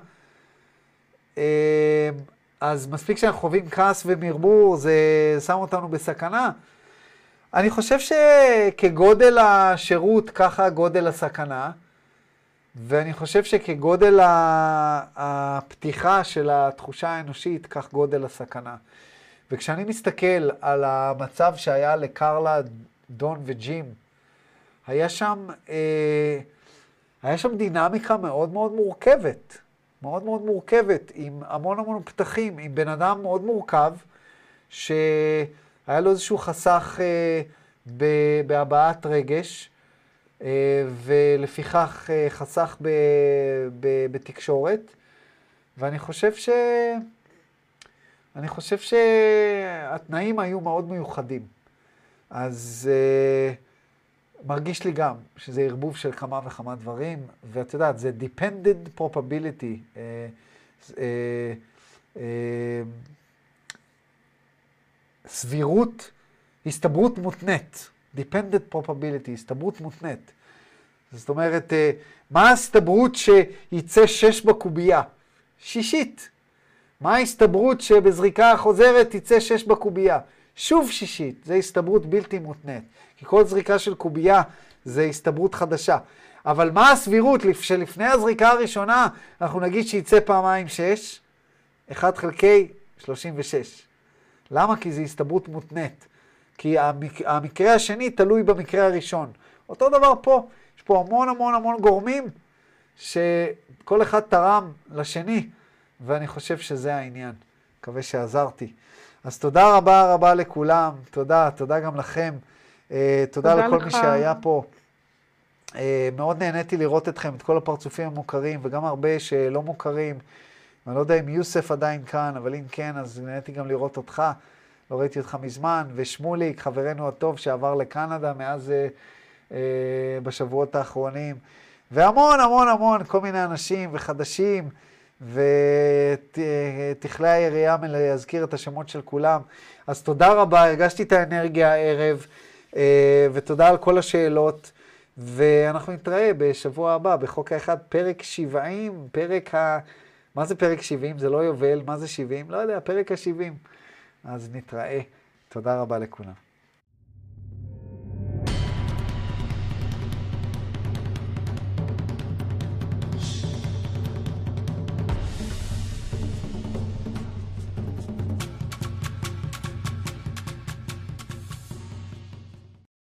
אז מספיק שאנחנו חווים כעס ומרמור, זה שם אותנו בסכנה. אני חושב שכגודל השירות, ככה גודל הסכנה, ואני חושב שכגודל הפתיחה של התחושה האנושית, כך גודל הסכנה. וכשאני מסתכל על המצב שהיה לקרלה, דון וג'ים, היה שם, אה, היה שם דינמיקה מאוד מאוד מורכבת, מאוד מאוד מורכבת, עם המון המון פתחים, עם בן אדם מאוד מורכב, שהיה לו איזשהו חסך אה, בהבעת רגש, אה, ולפיכך אה, חסך ב, ב, בתקשורת, ואני חושב ש... אני חושב שהתנאים היו מאוד מיוחדים. אז uh, מרגיש לי גם שזה ערבוב של כמה וכמה דברים, ואת יודעת, זה dependent probability, uh, uh, uh, סבירות, הסתברות מותנית, dependent probability, הסתברות מותנית. זאת אומרת, uh, מה ההסתברות שיצא שש בקובייה? שישית. מה ההסתברות שבזריקה חוזרת תצא שש בקובייה? שוב שישית, זה הסתברות בלתי מותנית. כי כל זריקה של קובייה זה הסתברות חדשה. אבל מה הסבירות שלפני הזריקה הראשונה אנחנו נגיד שיצא פעמיים שש? אחד חלקי שלושים ושש. למה? כי זה הסתברות מותנית. כי המק... המקרה השני תלוי במקרה הראשון. אותו דבר פה, יש פה המון המון המון גורמים שכל אחד תרם לשני. ואני חושב שזה העניין. מקווה שעזרתי. אז תודה רבה רבה לכולם, תודה, תודה גם לכם, תודה, תודה לכל לך. מי שהיה פה. מאוד נהניתי לראות אתכם, את כל הפרצופים המוכרים, וגם הרבה שלא מוכרים. אני לא יודע אם יוסף עדיין כאן, אבל אם כן, אז נהניתי גם לראות אותך. לא ראיתי אותך מזמן, ושמוליק, חברנו הטוב שעבר לקנדה מאז אה, בשבועות האחרונים. והמון המון המון, כל מיני אנשים וחדשים, ותכלי היריעה מלהזכיר את השמות של כולם. אז תודה רבה, הרגשתי את האנרגיה הערב, אה, ותודה על כל השאלות. ואנחנו נתראה בשבוע הבא, בחוק האחד, פרק שבעים, פרק ה... מה זה פרק שבעים? זה לא יובל, מה זה שבעים? לא יודע, פרק ה-שבעים. אז נתראה. תודה רבה לכולם.